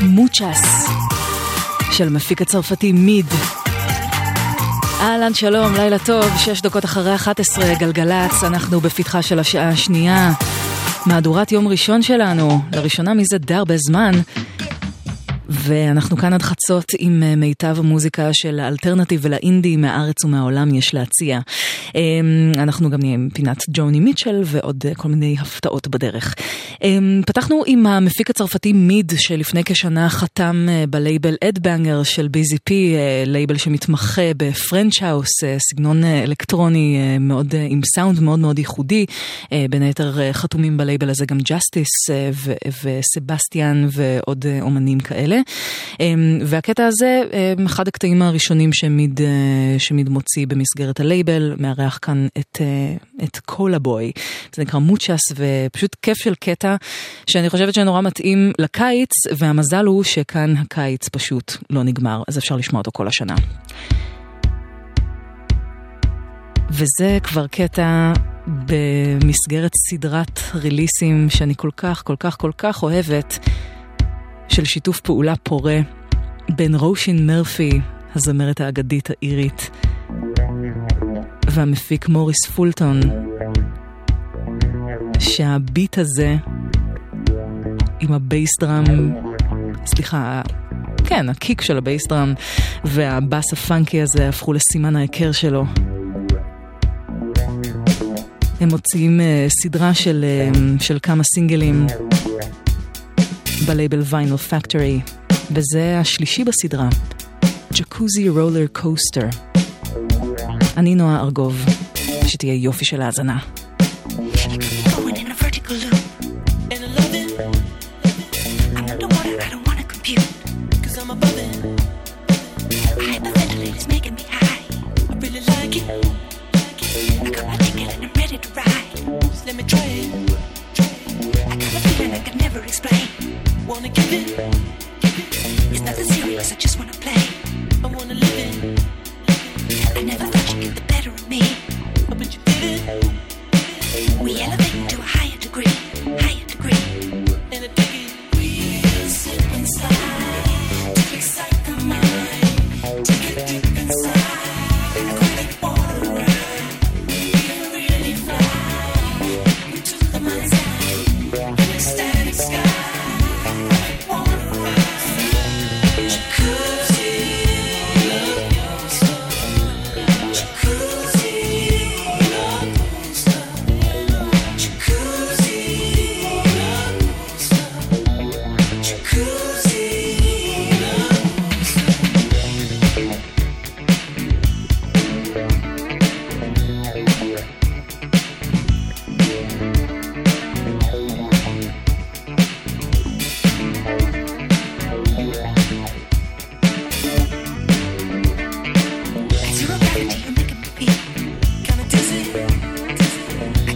מוצ'ס של המפיק הצרפתי מיד. אהלן, שלום, לילה טוב, שש דקות אחרי אחת עשרה, גלגלץ, אנחנו בפתחה של השעה השנייה, מהדורת יום ראשון שלנו, לראשונה מזה די הרבה זמן, ואנחנו כאן עד חצות עם מיטב המוזיקה של האלטרנטיב ולאינדי מהארץ ומהעולם יש להציע. אנחנו גם נהיה עם פינת ג'וני מיטשל ועוד כל מיני הפתעות בדרך. פתחנו עם המפיק הצרפתי מיד שלפני כשנה חתם בלייבל אדבנגר של בי זי פי, לייבל שמתמחה בפרנץ' האוס, סגנון אלקטרוני מאוד, עם סאונד מאוד מאוד ייחודי. בין היתר חתומים בלייבל הזה גם ג'סטיס וסבסטיאן ועוד אומנים כאלה. והקטע הזה, אחד הקטעים הראשונים שמיד, שמיד מוציא במסגרת הלייבל, מארח כאן את, את קולה בוי. זה נקרא מוצ'ס, ופשוט כיף של קטע שאני חושבת שנורא מתאים לקיץ, והמזל הוא שכאן הקיץ פשוט לא נגמר, אז אפשר לשמוע אותו כל השנה. וזה כבר קטע במסגרת סדרת ריליסים שאני כל כך, כל כך, כל כך אוהבת, של שיתוף פעולה פורה בין רושין מרפי, הזמרת האגדית האירית, והמפיק מוריס פולטון, שהביט הזה עם הבייס דראם, סליחה, כן, הקיק של הבייס דראם והבאס הפאנקי הזה הפכו לסימן ההיכר שלו. הם מוציאים uh, סדרה של, uh, של כמה סינגלים בלייבל ויינל פקטורי, וזה השלישי בסדרה, ג'קוזי רולר קוסטר. אני נועה ארגוב, שתהיה יופי של האזנה. Let me try it. I got a feeling I can never explain. Wanna give it? It's nothing serious, I just wanna play. I wanna live it. I never thought you'd get the better of me, but you did it. We elevate to a higher degree, higher degree. And I dig it. We'll sit inside to excite the mind. Take it deep inside. Let it water around. We'll really fly into the mind's eye. An ecstatic sky.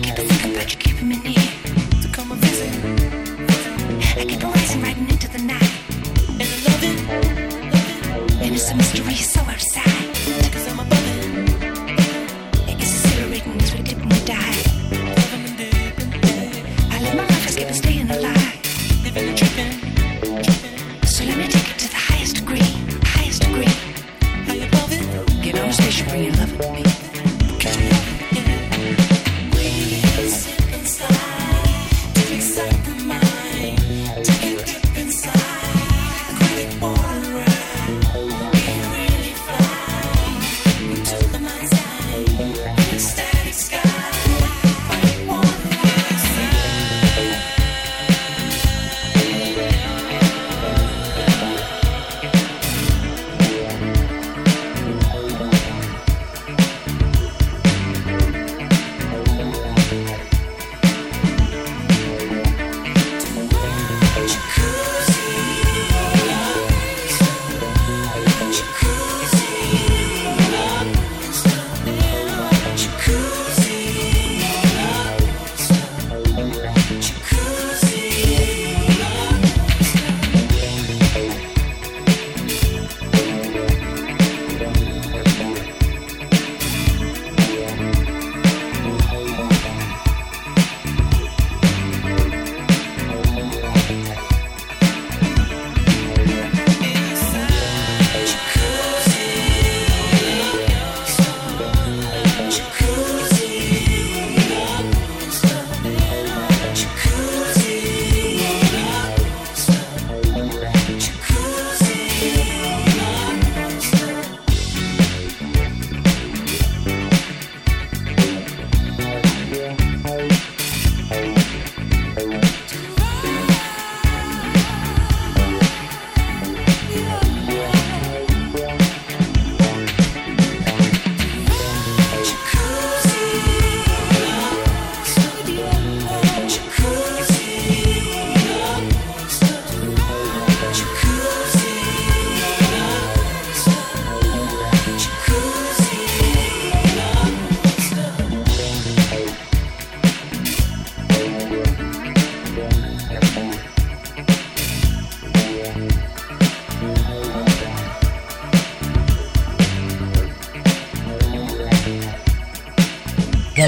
Right into the night.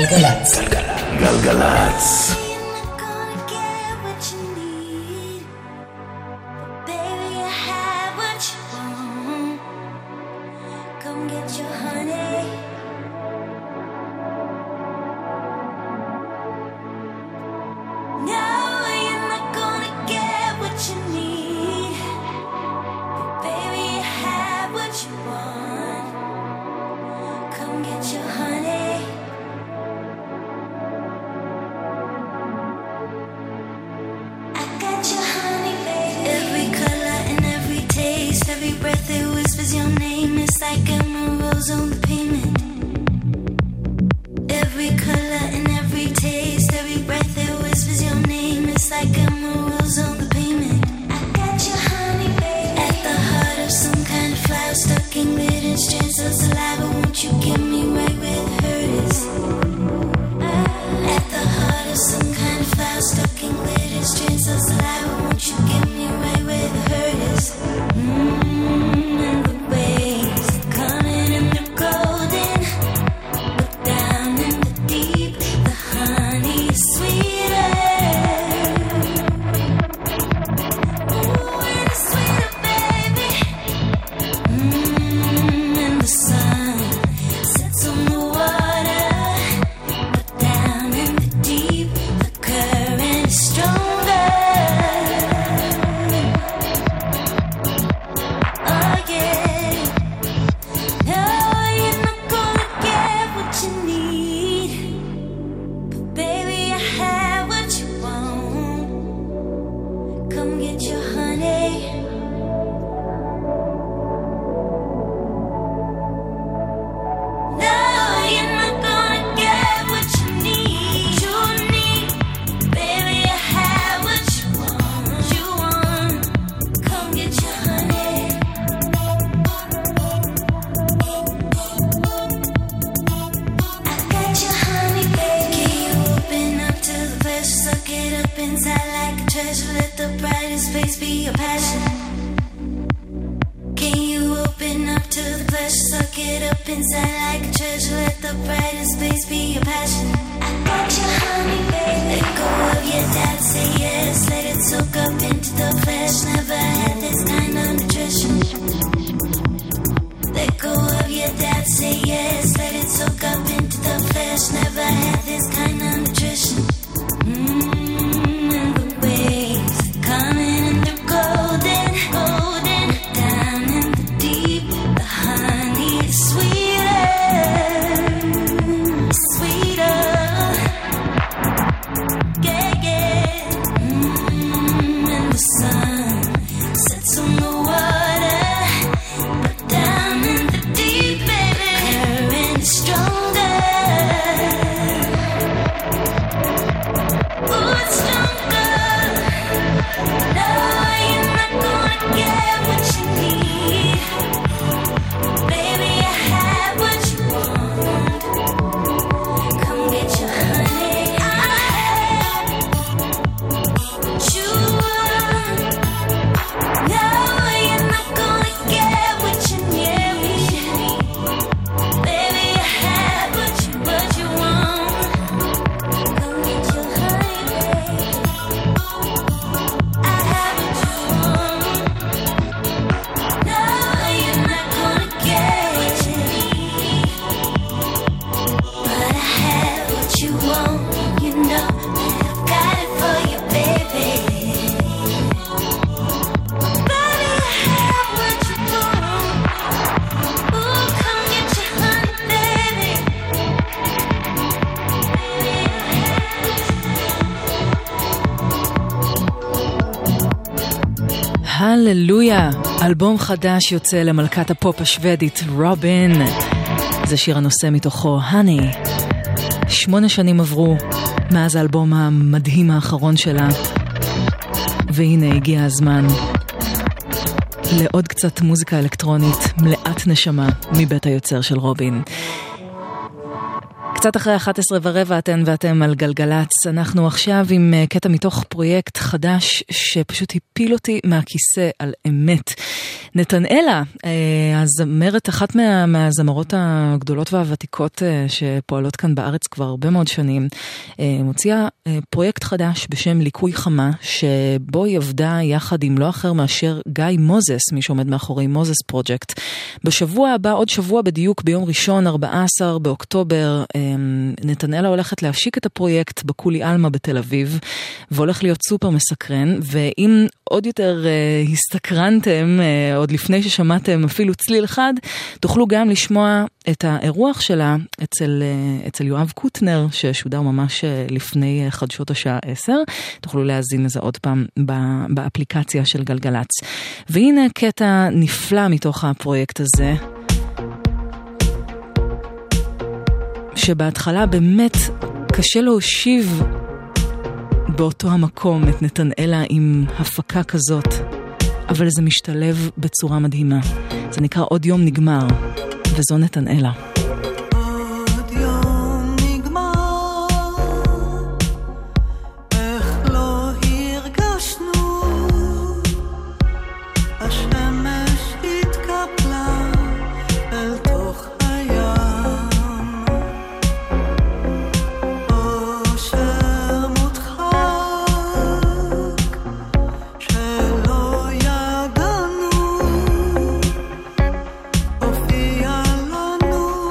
גלגלצ. גלגלצ. הללויה, אלבום חדש יוצא למלכת הפופ השוודית רובין. זה שיר הנושא מתוכו, הני. שמונה שנים עברו מאז האלבום המדהים האחרון שלה, והנה הגיע הזמן לעוד קצת מוזיקה אלקטרונית מלאת נשמה מבית היוצר של רובין. קצת אחרי אחת עשרה ורבע אתן ואתם על גלגלץ. אנחנו עכשיו עם קטע מתוך פרויקט חדש שפשוט הפיל אותי מהכיסא על אמת. נתנאלה, הזמרת, אחת מה, מהזמרות הגדולות והוותיקות שפועלות כאן בארץ כבר הרבה מאוד שנים, מוציאה פרויקט חדש בשם ליקוי חמה, שבו היא עבדה יחד עם לא אחר מאשר גיא מוזס, מי שעומד מאחורי מוזס פרוג'קט. בשבוע הבא, עוד שבוע בדיוק, ביום ראשון, ארבעה עשר באוקטובר, נתנאלה הולכת להשיק את הפרויקט בקולי אלמה בתל אביב, והולך להיות סופר מסקרן, ואם עוד יותר הסתקרנתם, עוד לפני ששמעתם אפילו צליל אחד, תוכלו גם לשמוע את האירוח שלה אצל, אצל יואב קוטנר, ששודר ממש לפני חדשות השעה עשר. תוכלו להזין לזה עוד פעם באפליקציה של גלגלץ. והנה קטע נפלא מתוך הפרויקט הזה, שבהתחלה באמת קשה להושיב באותו המקום את נתנאלה עם הפקה כזאת, אבל זה משתלב בצורה מדהימה. זה נקרא עוד יום נגמר, וזו נתנאלה. הופיע לנו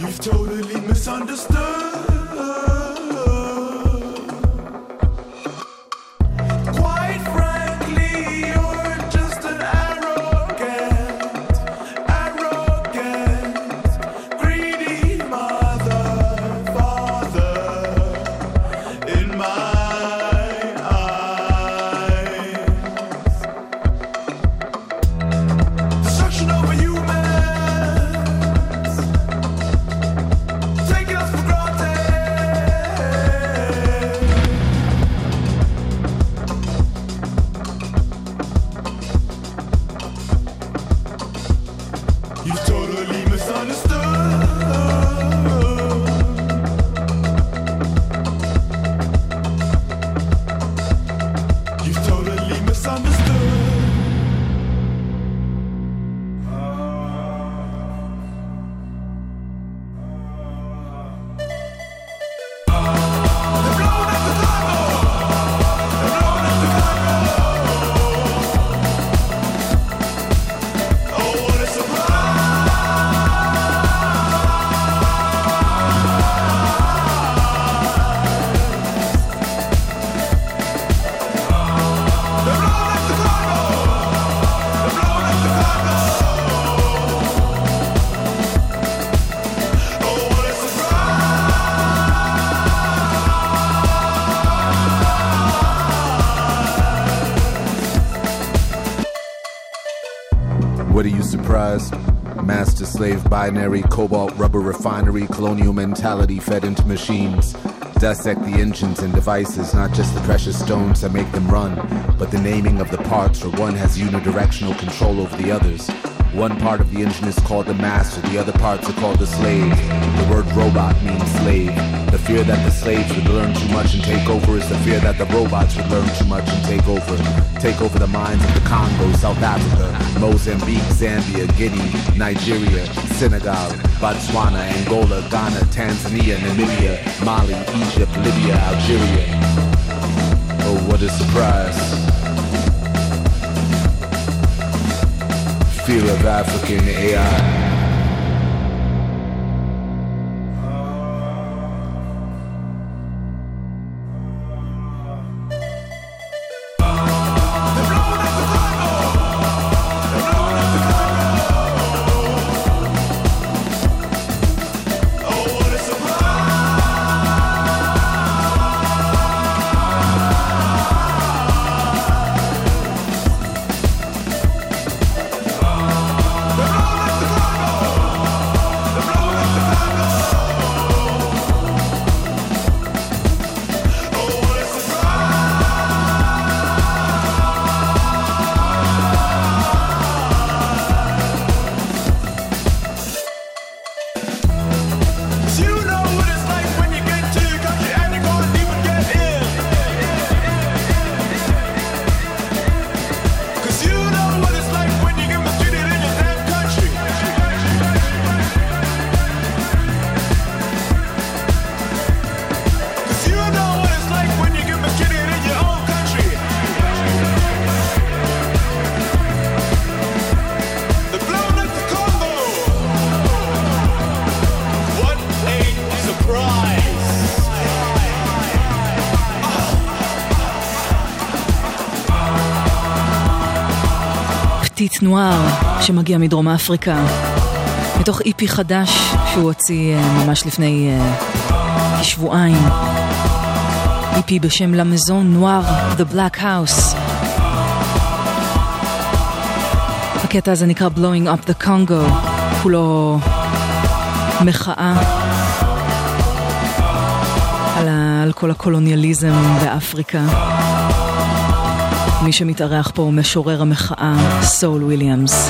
You've totally misunderstood. Quite frankly, you're just an arrogant, arrogant, greedy mother, father, in my eyes. Destruction over humans, taking us for granted. You've totally misunderstood. You've totally misunderstood. What are you surprised? Master slave binary, cobalt rubber refinery, colonial mentality fed into machines. Dissect the engines and devices, not just the precious stones that make them run, but the naming of the parts where one has unidirectional control over the others. One part of the engine is called the master, the other parts are called the slave. The word robot means slave. The fear that the slaves would learn too much and take over is the fear that the robots would learn too much and take over. Take over the minds of the Congo, South Africa, Mozambique, Zambia, Guinea, Nigeria, Senegal, Botswana, Angola, Ghana, Tanzania, Namibia, Mali, Egypt, Libya, Algeria. Oh, what a surprise. Fear of African A I. פטיט נואר שמגיע מדרום אפריקה מתוך איפי חדש שהוא הוציא ממש לפני כשבועיים, איפי בשם La Maison Noire The Black House. הקטע הזה נקרא Blowing Up the Congo, כולו מחאה על, ה... על כל הקולוניאליזם באפריקה. מי שמתארח פה הוא משורר המחאה סול וויליאמס.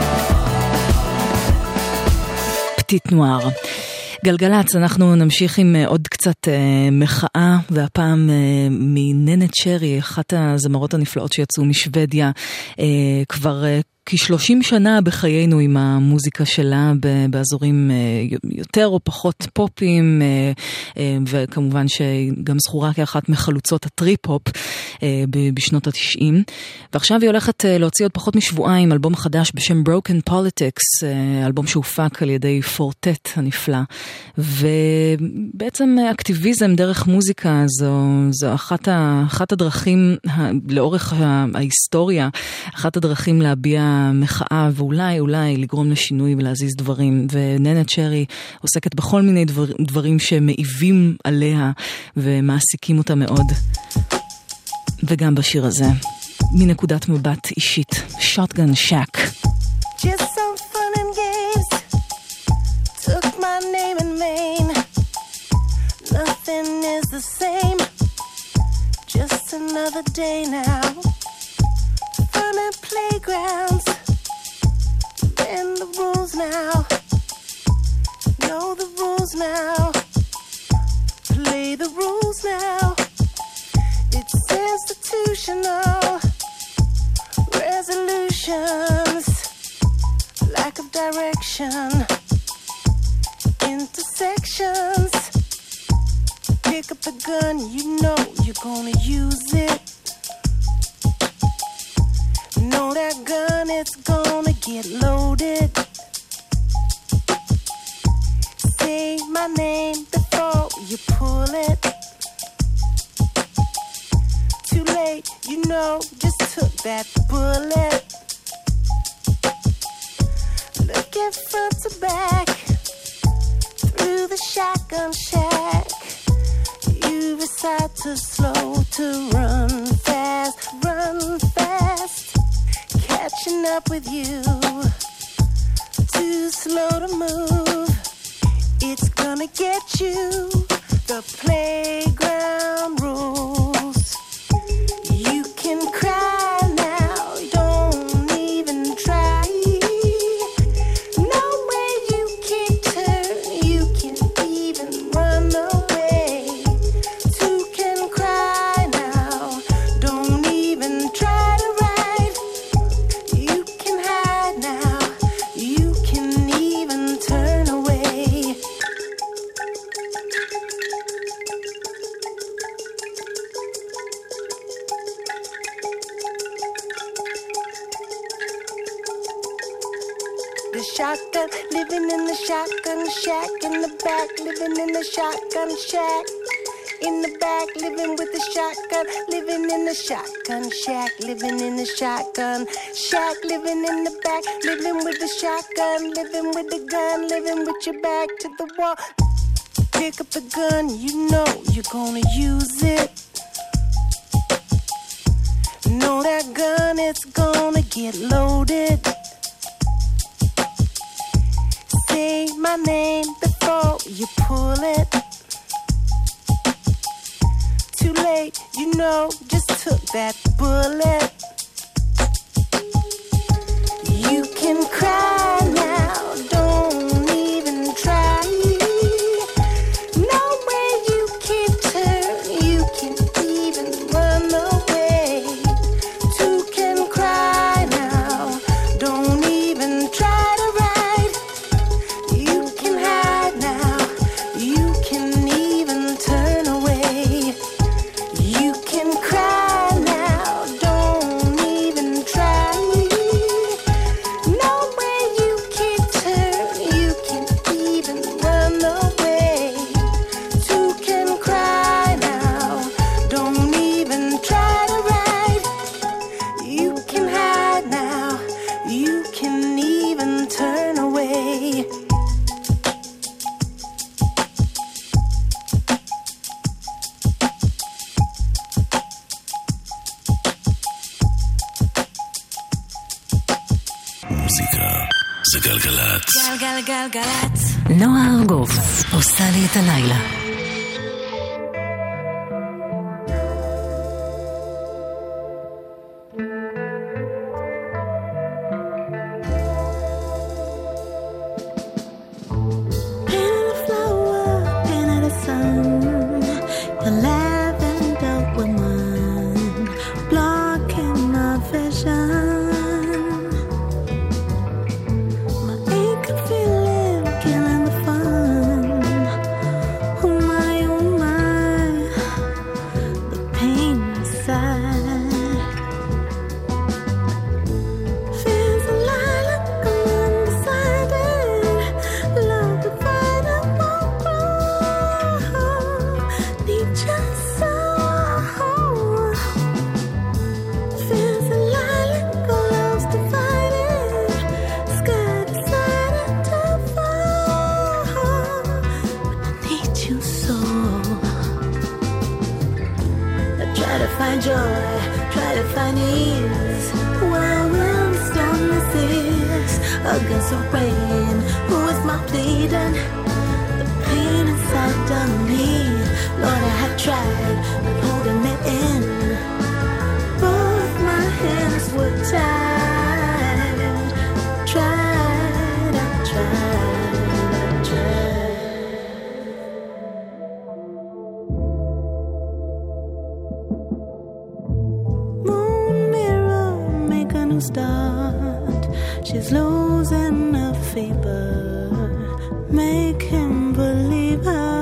פטיט נואר. גלגלץ, אנחנו נמשיך עם עוד קצת אה, מחאה, והפעם אה, מננת שרי, אחת הזמרות הנפלאות שיצאו משוודיה, אה, כבר אה, כ-שלושים שנה בחיינו עם המוזיקה שלה באזורים יותר או פחות פופים, וכמובן שגם זכורה כאחת מחלוצות הטריפ-הופ בשנות ה-תשעים. ועכשיו היא הולכת להוציא עוד פחות משבועיים אלבום חדש בשם Broken Politics, אלבום שהופק על ידי פורטט הנפלא. ובעצם אקטיביזם דרך מוזיקה זו, זו אחת, ה, אחת הדרכים לאורך ההיסטוריה, אחת הדרכים להביע מחאה ואולי אולי לגרום לשינוי ולהזיז דברים. וננה צ'רי עוסקת בכל מיני דבר, דברים שמעיבים עליה ומעסיקים אותה מאוד. וגם בשיר הזה, מנקודת מבט אישית, Shotgun Shack. Just some fun and games, took my name in vain. Nothing is the same, just another day now. Fun and playgrounds, bend the rules now. Know the rules now, play the rules now. It's institutional resolutions, lack of direction, intersections. Pick up the gun, you know you're gonna use it. Know that gun, it's gonna get loaded. Say my name before you pull it. Too late, you know, just took that bullet. Look at front to back, through the shotgun shack. You decide to slow, to run fast, run fast. Catching up with you, too slow to move. It's gonna get you, the playground rules. You can cry now, don't even try. No way you can turn, you can even run away. Two can cry now, don't even try to ride. You can hide now, you can even turn away. The shotgun, living in the shotgun shack. In the back, living in the shotgun shack. In the back, living with the shotgun. Living in the shotgun shack. Living in the shotgun shack. Living in the back, living with the shotgun. Living with the gun, living with your back to the wall. Pick up the gun, you know you're gonna use it. Know that gun, it's gonna get loaded. Say my name before you pull it. Too late, you know, just took that bullet. You can cry now, don't even try. No way you can turn, you can even run away. Two can cry now, don't even try to ride. You can hide now, you can even turn away. You can cry now, don't even try. No way you can turn, you can even run away. Two can cry now, don't even try to ride. You can hide now, you can even turn away. מוזיקה זה גלגלצ. גלגלגלגלצ. נועה ארגוב עושה לי את הלילה. Blocking my vision. find joy, try to find ease. While when the stillness is against the rain, who is my pleading? The pain inside of me. Lord, I have tried, but holding it in. Both my hands were tied. Tried, I tried, I tried. Moon mirror, make a new start. She's losing her fever. Make him believe her.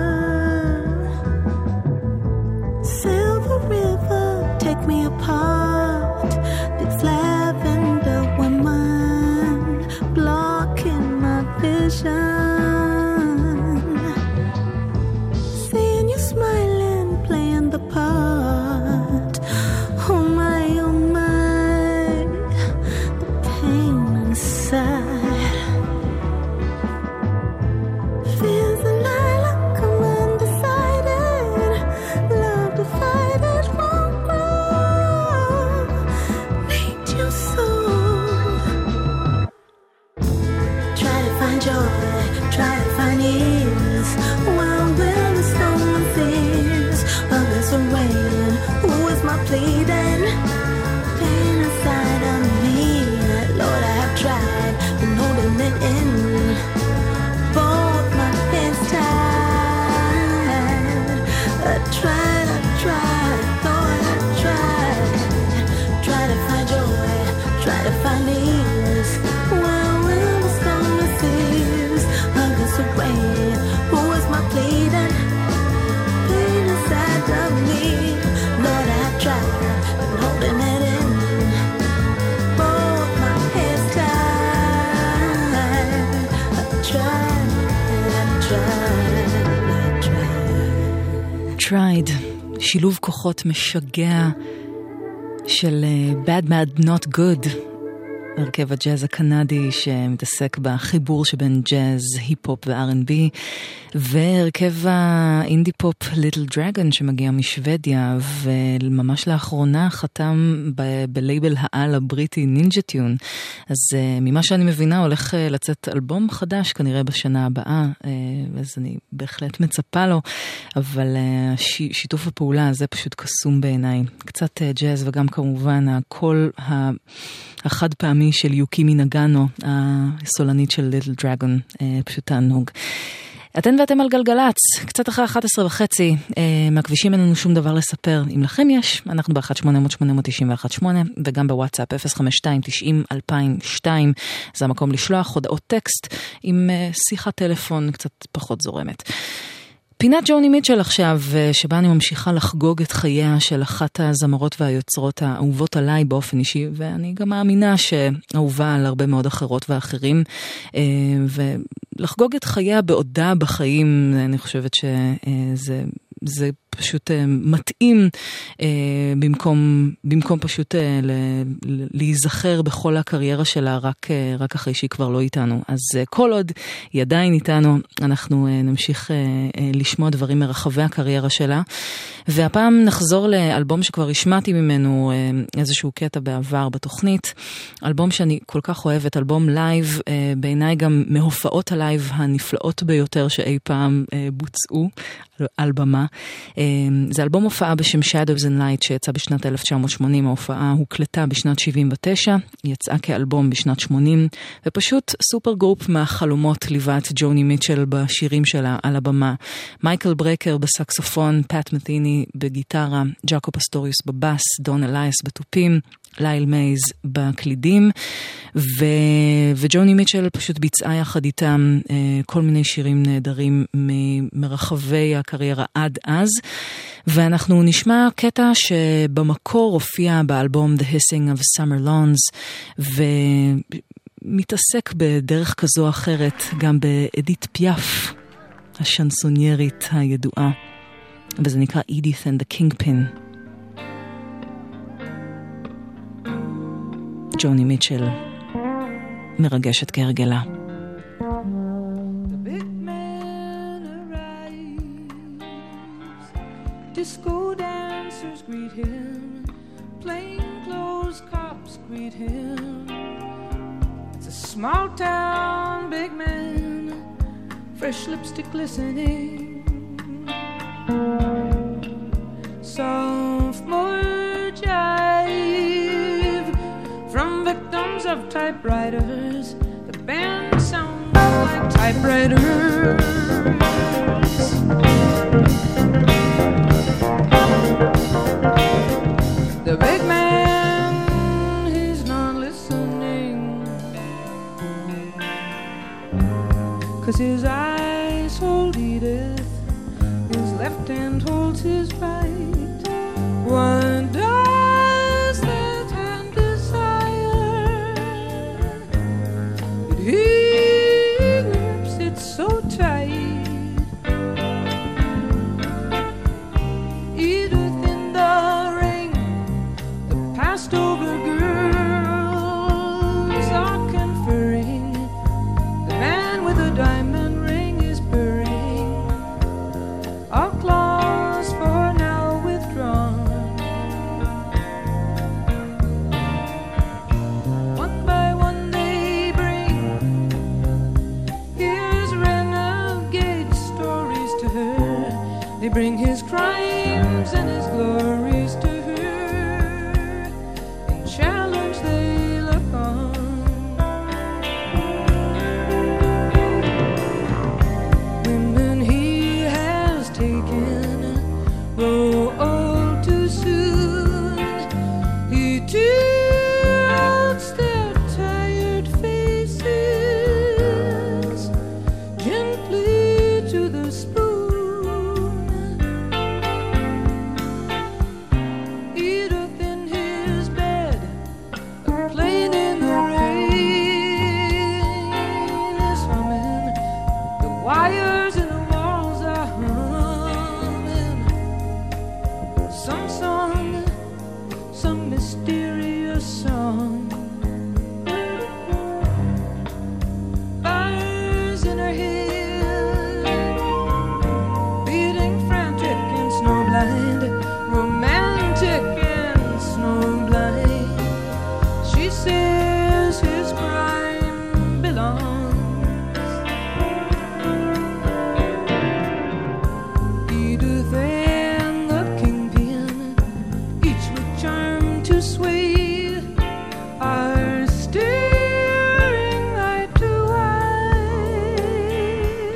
Silver river, take me apart. It's lavender woman blocking my vision. Seeing you smiling, playing the part. Oh my, oh my, the pain inside. Feels a lilac, I'm undecided. Love to fight it won't grow. Need you so. Try to find joy, try to find ease. While when the storm fears against the rain, who is my pleading? Pain inside of me. Lord, I have tried, been holding it in. Both my hands tied. I tried, I tried, Lord, I tried. Try to find joy, try to find ease. While when the storm fears against the rain, who is my pleading? Pain inside of me. Lord, I have tried, been holding it in. Both my hands tied. I tried, I tried, I tried. Tried, שילוב כוחות משגע של uh, Bad Bad Not Good, הרכב הג'אז הקנדי שמתעסק בחיבור שבין ג'אז, היפ-הופ ו-אר אנד בי, והרכב האינדי פופ ליטל דרגון שמגיע משוודיה, וממש לאחרונה חתם ב- בלייבל העל הבריטי נינג'ה טיון. אז uh, ממה שאני מבינה הולך uh, לצאת אלבום חדש כנראה בשנה הבאה, uh, אז אני בהחלט מצפה לו, אבל uh, ש- שיתוף הפעולה הזה פשוט קסום בעיניי. קצת uh, ג'אז וגם כמובן הקול ה... החד פעמי של יוקימי נגאנו, הסולנית של ליטל דרגון, פשוט תענוג. אתן ואתם על גלגלץ, קצת אחרי אחת עשרה וחצי, מהכבישים אין לנו שום דבר לספר. אם לכם יש, אנחנו ב-אחת שמונה אפס אפס שמונה תשע אחת שמונה, וגם בוואטסאפ אפס חמש שתיים תשעים אלפיים ושתיים, זה המקום לשלוח הודעות טקסט עם שיחת טלפון קצת פחות זורמת. פינת ג'וני מיטשל עכשיו, שבה אני ממשיכה לחגוג את חייה של אחת הזמרות והיוצרות האהובות עליי באופן אישי, ואני גם מאמינה שאהובה על הרבה מאוד אחרות ואחרים, ולחגוג את חייה בעודה בחיים, אני חושבת שזה זה פשוט מתאים במקום, במקום פשוט להיזכר בכל הקריירה שלה רק, רק אחרי שהיא כבר לא איתנו. אז כל עוד היא עדיין איתנו, אנחנו נמשיך לשמוע דברים מרחבי הקריירה שלה. והפעם נחזור לאלבום שכבר השמעתי ממנו איזשהו קטע בעבר בתוכנית. אלבום שאני כל כך אוהבת, אלבום לייב, בעיניי גם מהופעות הלייב הנפלאות ביותר שאי פעם בוצעו על במה. זה אלבום הופעה בשם Shadows and Light שיצא בשנת אלף תשע מאות שמונים, ההופעה הוקלטה בשנת שבעים ותשע, יצאה כאלבום בשנת שמונים, ופשוט סופר גרופ מהחלומות ליווה את ג'וני מיטשל בשירים שלה על הבמה. מייקל ברקר בסקסופון, פאט מתיני בגיטרה, ג'אקו פסטוריוס בבאס, דון אלייס בתופים, ליל מייז בקלידים, ו... וג'וני מיטשל פשוט ביצעה יחד איתם uh, כל מיני שירים נהדרים מרחבי הקריירה עד אז, ואנחנו נשמע קטע שבמקור הופיע באלבום The Hissing of Summer Lawns, ומתעסק בדרך כזו או אחרת גם באדית פיאף, השנסוניירית הידועה, וזה נקרא Edith and the Kingpin. ג'וני מיטשל מרגשת כהרגלה. The big man arrives, disco dance dancers greet him, plainclothes cops greet him. It's a small town, big man, fresh lipstick glistening. Sophomore jive from victims of typewriters. The band sounds like typewriters. The big man, he's not listening, 'cause his eyes hold Edith, his left hand holds his right. What does that hand desire? But he grips it so tight. Edith in the ring, the passed over girls are conferring. The man with the diamond ring is purring. Our claws for now withdrawn. One by one they bring his renegade stories to her. They bring his crimes and his glories to her. In challenge they look on. Women he has taken grow old too soon. He tilts their tired faces gently to the spoon. Edith in his bed, playing in the rain, is humming. The wires in the walls are humming. Some song, some mysterious song. Fires in her head, beating frantic and snowblind, romantic and snowblind. She says his crime belongs. Edith and the kingpin, each with charm to sway, are staring eye to eye.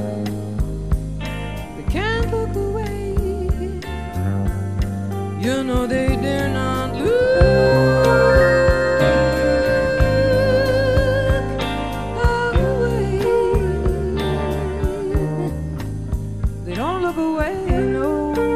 They can't look away. You know they dare not look away. They don't look away, no.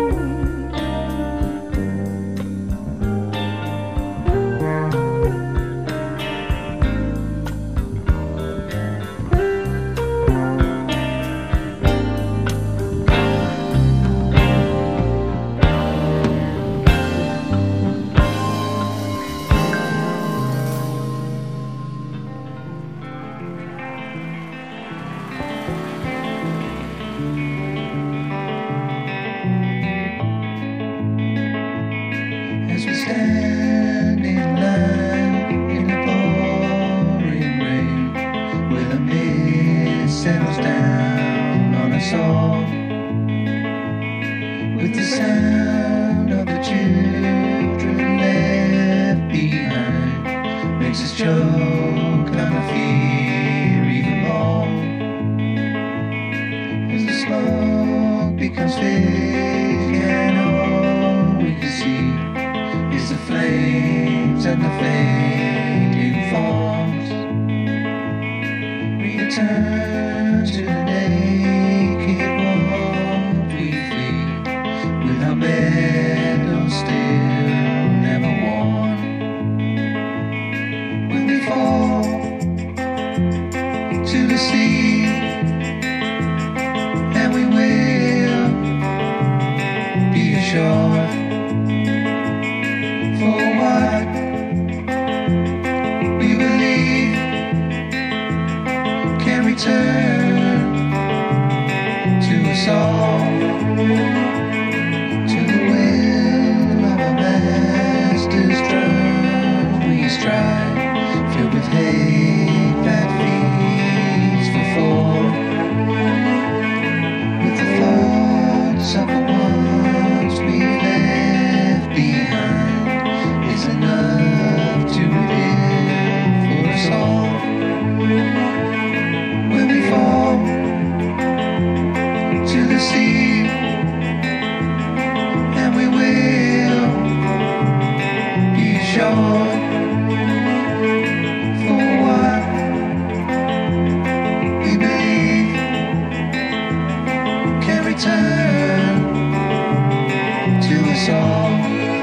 As we stand in line in the pouring rain, where the mist settles down on us all, with the sound of the children left behind, makes us choke on the fear even more. As the smoke becomes thick and all we can see is the flames and the fading forms. Return to the naked walk we flee, with our medals still never worn. When we fall to the sea, and we will be ashore. For what we believe can return to us all, to the will dry, filled with hay that feeds for four. With the thoughts of the ones we left behind is enough to live for us all. When we fall to the sea, and we will be sure for what we believe can return to us all.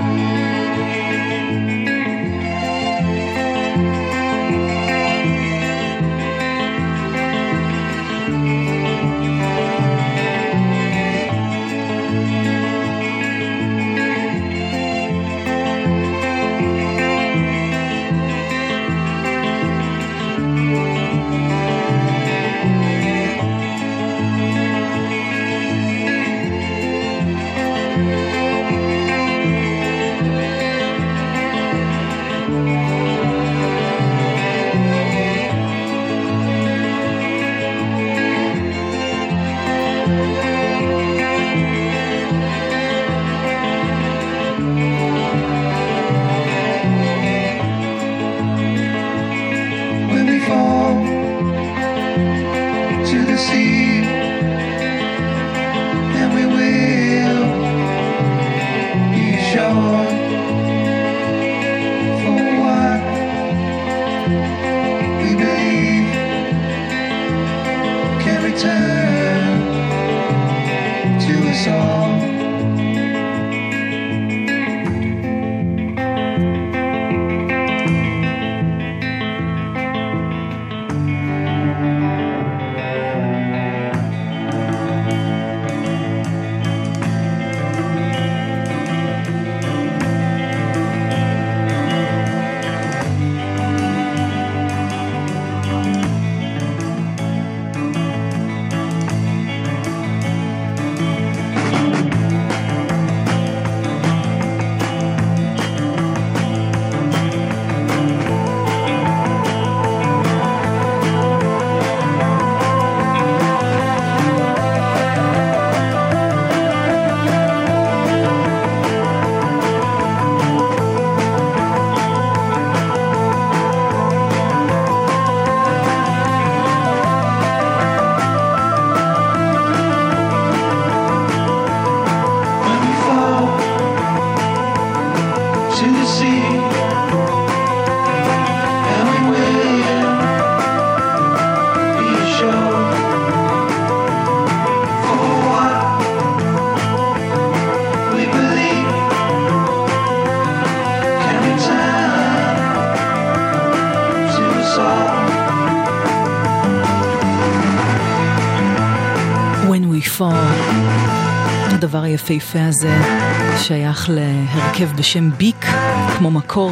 הדבר היפהפה הזה שייך להרכב בשם ביק, כמו מקור,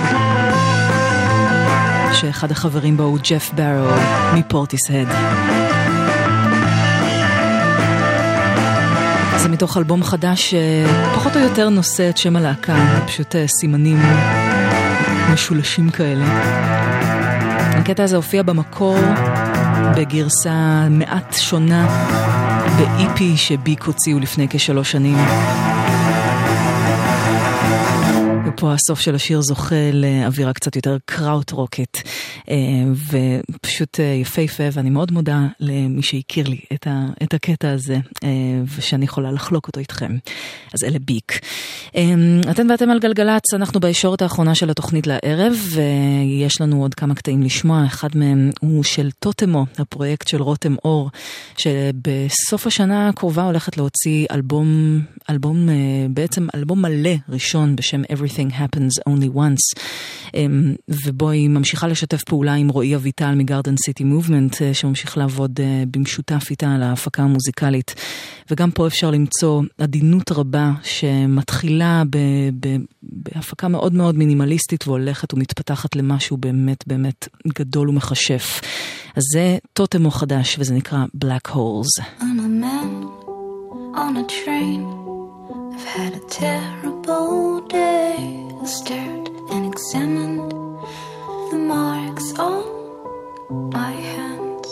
שאחד החברים בו הוא ג'ף ברו מפורטיסהד. זה מתוך אלבום חדש שפחות או יותר נושא את שם הלהקה, פשוט סימנים משולשים כאלה. הקטע הזה הופיע במקור בגרסה מעט שונה ב-אי פי שביק הוציאו לפני כשלוש שנים. ופה הסוף של השיר זוכה לאווירה קצת יותר קראוט רוקט, ופשוט יפהפה, ואני מאוד מודה למי שהכיר לי את, ה, את הקטע הזה, ושאני יכולה לחלוק אותו איתכם. אז אלה ביק. אתם ואתם על גלגלץ, אנחנו בישורת האחרונה של התוכנית לערב, ויש לנו עוד כמה קטעים לשמוע. אחד מהם הוא של טוטמו, הפרויקט של רותם אור, שבסוף השנה הקרובה הולכת להוציא אלבום, אלבום, בעצם אלבום מלא ראשון בשם Everything Happens Only Once, ובו היא ממשיכה לשתף פעולה עם רועי אביטל מגרדן סיטי מובמנט, שממשיך לעבוד במשותף איתה על ההפקה המוזיקלית. וגם פה אפשר למצוא עדינות רבה שמתחילה ב, ב, בהפקה מאוד מאוד מינימליסטית והולכת ומתפתחת למשהו באמת באמת גדול ומחשף. אז זה טוטמו חדש וזה נקרא Black Holes. I'm a man on a train. I've had a terrible day. I stared and examined the marks on my hands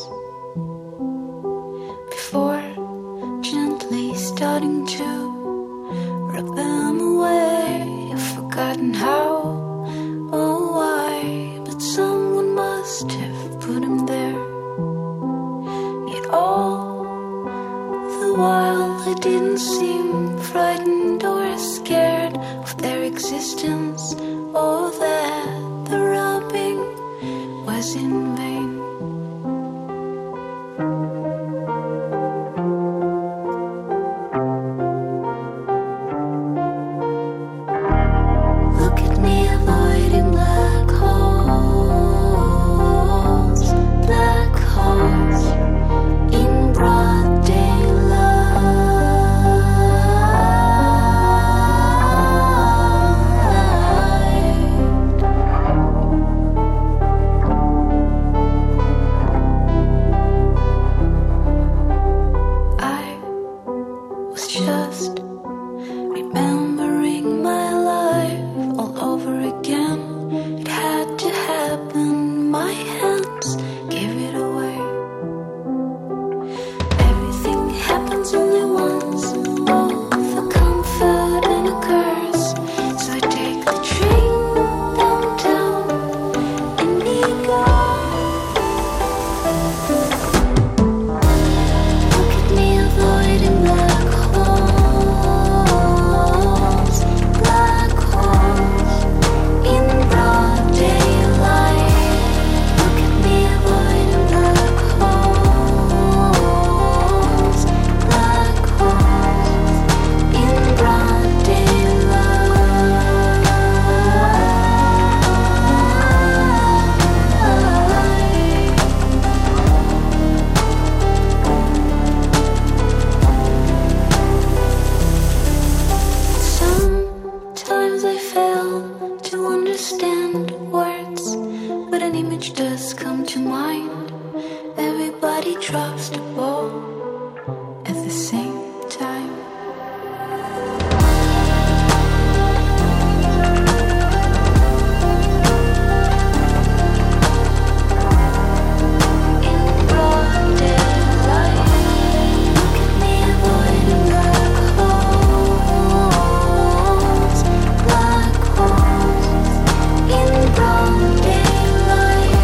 before gently starting to rub them away. I've forgotten how or why, but someone must have put them there. Yet all the while I didn't seem frightened or scared of their existence, or that the rubbing was in vain. Look at me avoiding black holes, black holes in broad just remembering my life all over again. It had to happen, my hands gave it away. Everything happens only once, both a comfort and a curse. So I take the train downtown Indigo. Look at me avoiding black holes, black holes in broad daylight. Look at me avoiding black holes, black holes in broad daylight. Sometimes I fail to understand words, but an image does come to mind. Everybody drops the ball at the same time. In broad daylight, look at me avoiding black holes, black holes in broad daylight.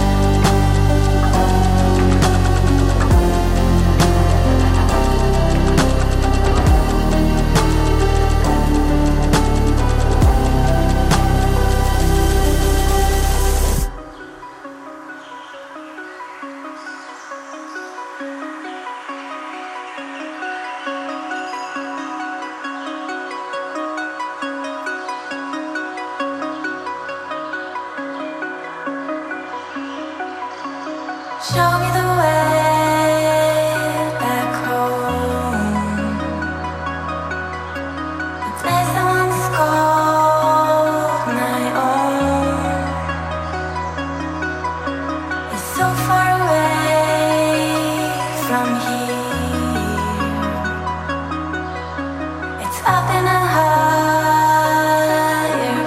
Show me the way back home, the place I once called my own. It's so far away from here. It's up in a higher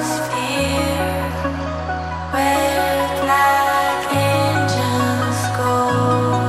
sphere where black angels go.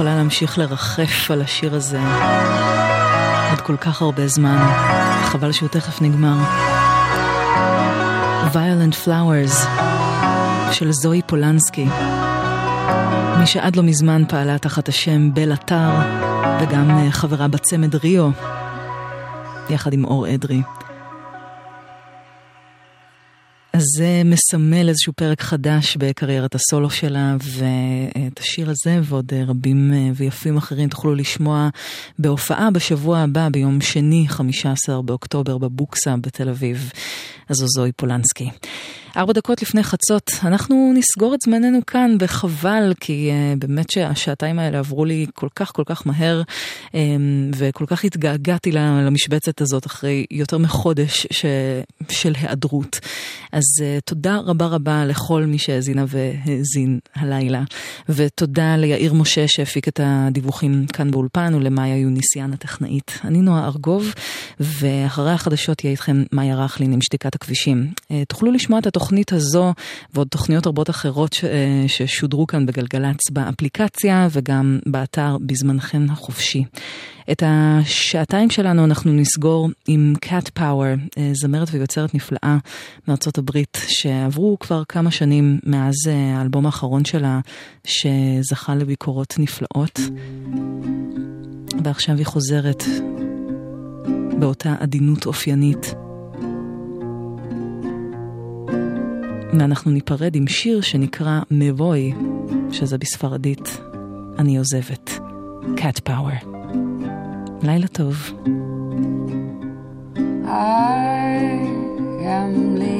יכולה להמשיך לרחף על השיר הזה עוד כל כך הרבה זמן. חבל שהוא תכף נגמר. Violent Flowers של זוהי פולנסקי, מי שעד לא מזמן פעלה תחת השם בל אתר, וגם חברה בצמד ריו יחד עם אור אדרי. אז זה מסמל איזשהו פרק חדש בקריירת הסולו שלה, ואת השיר הזה ועוד רבים ויפים אחרים תוכלו לשמוע בהופעה בשבוע הבא, ביום שני, חמישה עשר באוקטובר, בבוקסה בתל אביב. אז זו זוהי פולנסקי. ארבע דקות לפני חצות, אנחנו נסגור את זמננו כאן, וחבל, כי uh, באמת שהשעתיים האלה עברו לי כל כך כל כך מהר, um, וכל כך התגעגעתי למשבצת הזאת אחרי יותר מחודש ש... של היעדרות. אז uh, תודה רבה רבה לכל מי שהזינה והזין הלילה, ותודה ליאיר משה שהפיק את הדיווחים כאן באולפן, ולמאיה יוניסיאן הטכנאית. אני נועה ארגוב, ואחרי החדשות יהיה איתכם מאיה רחלין עם שתיקת הכבישים. Uh, תוכלו לשמוע את התוכנית הזו ועוד תוכניות רבות אחרות ש... ששודרו כאן בגלגלץ באפליקציה וגם באתר בזמנכם החופשי. את השעתיים שלנו אנחנו נסגור עם Cat Power, זמרת ויוצרת נפלאה מארצות הברית, שעברו כבר כמה שנים מאז האלבום האחרון שלה שזכה לביקורות נפלאות, ועכשיו היא חוזרת באותה עדינות אופיינית. ואנחנו ניפרד עם שיר שנקרא מבוי, שזה בספרדית אני עוזבת. Cat Power. לילה טוב. I am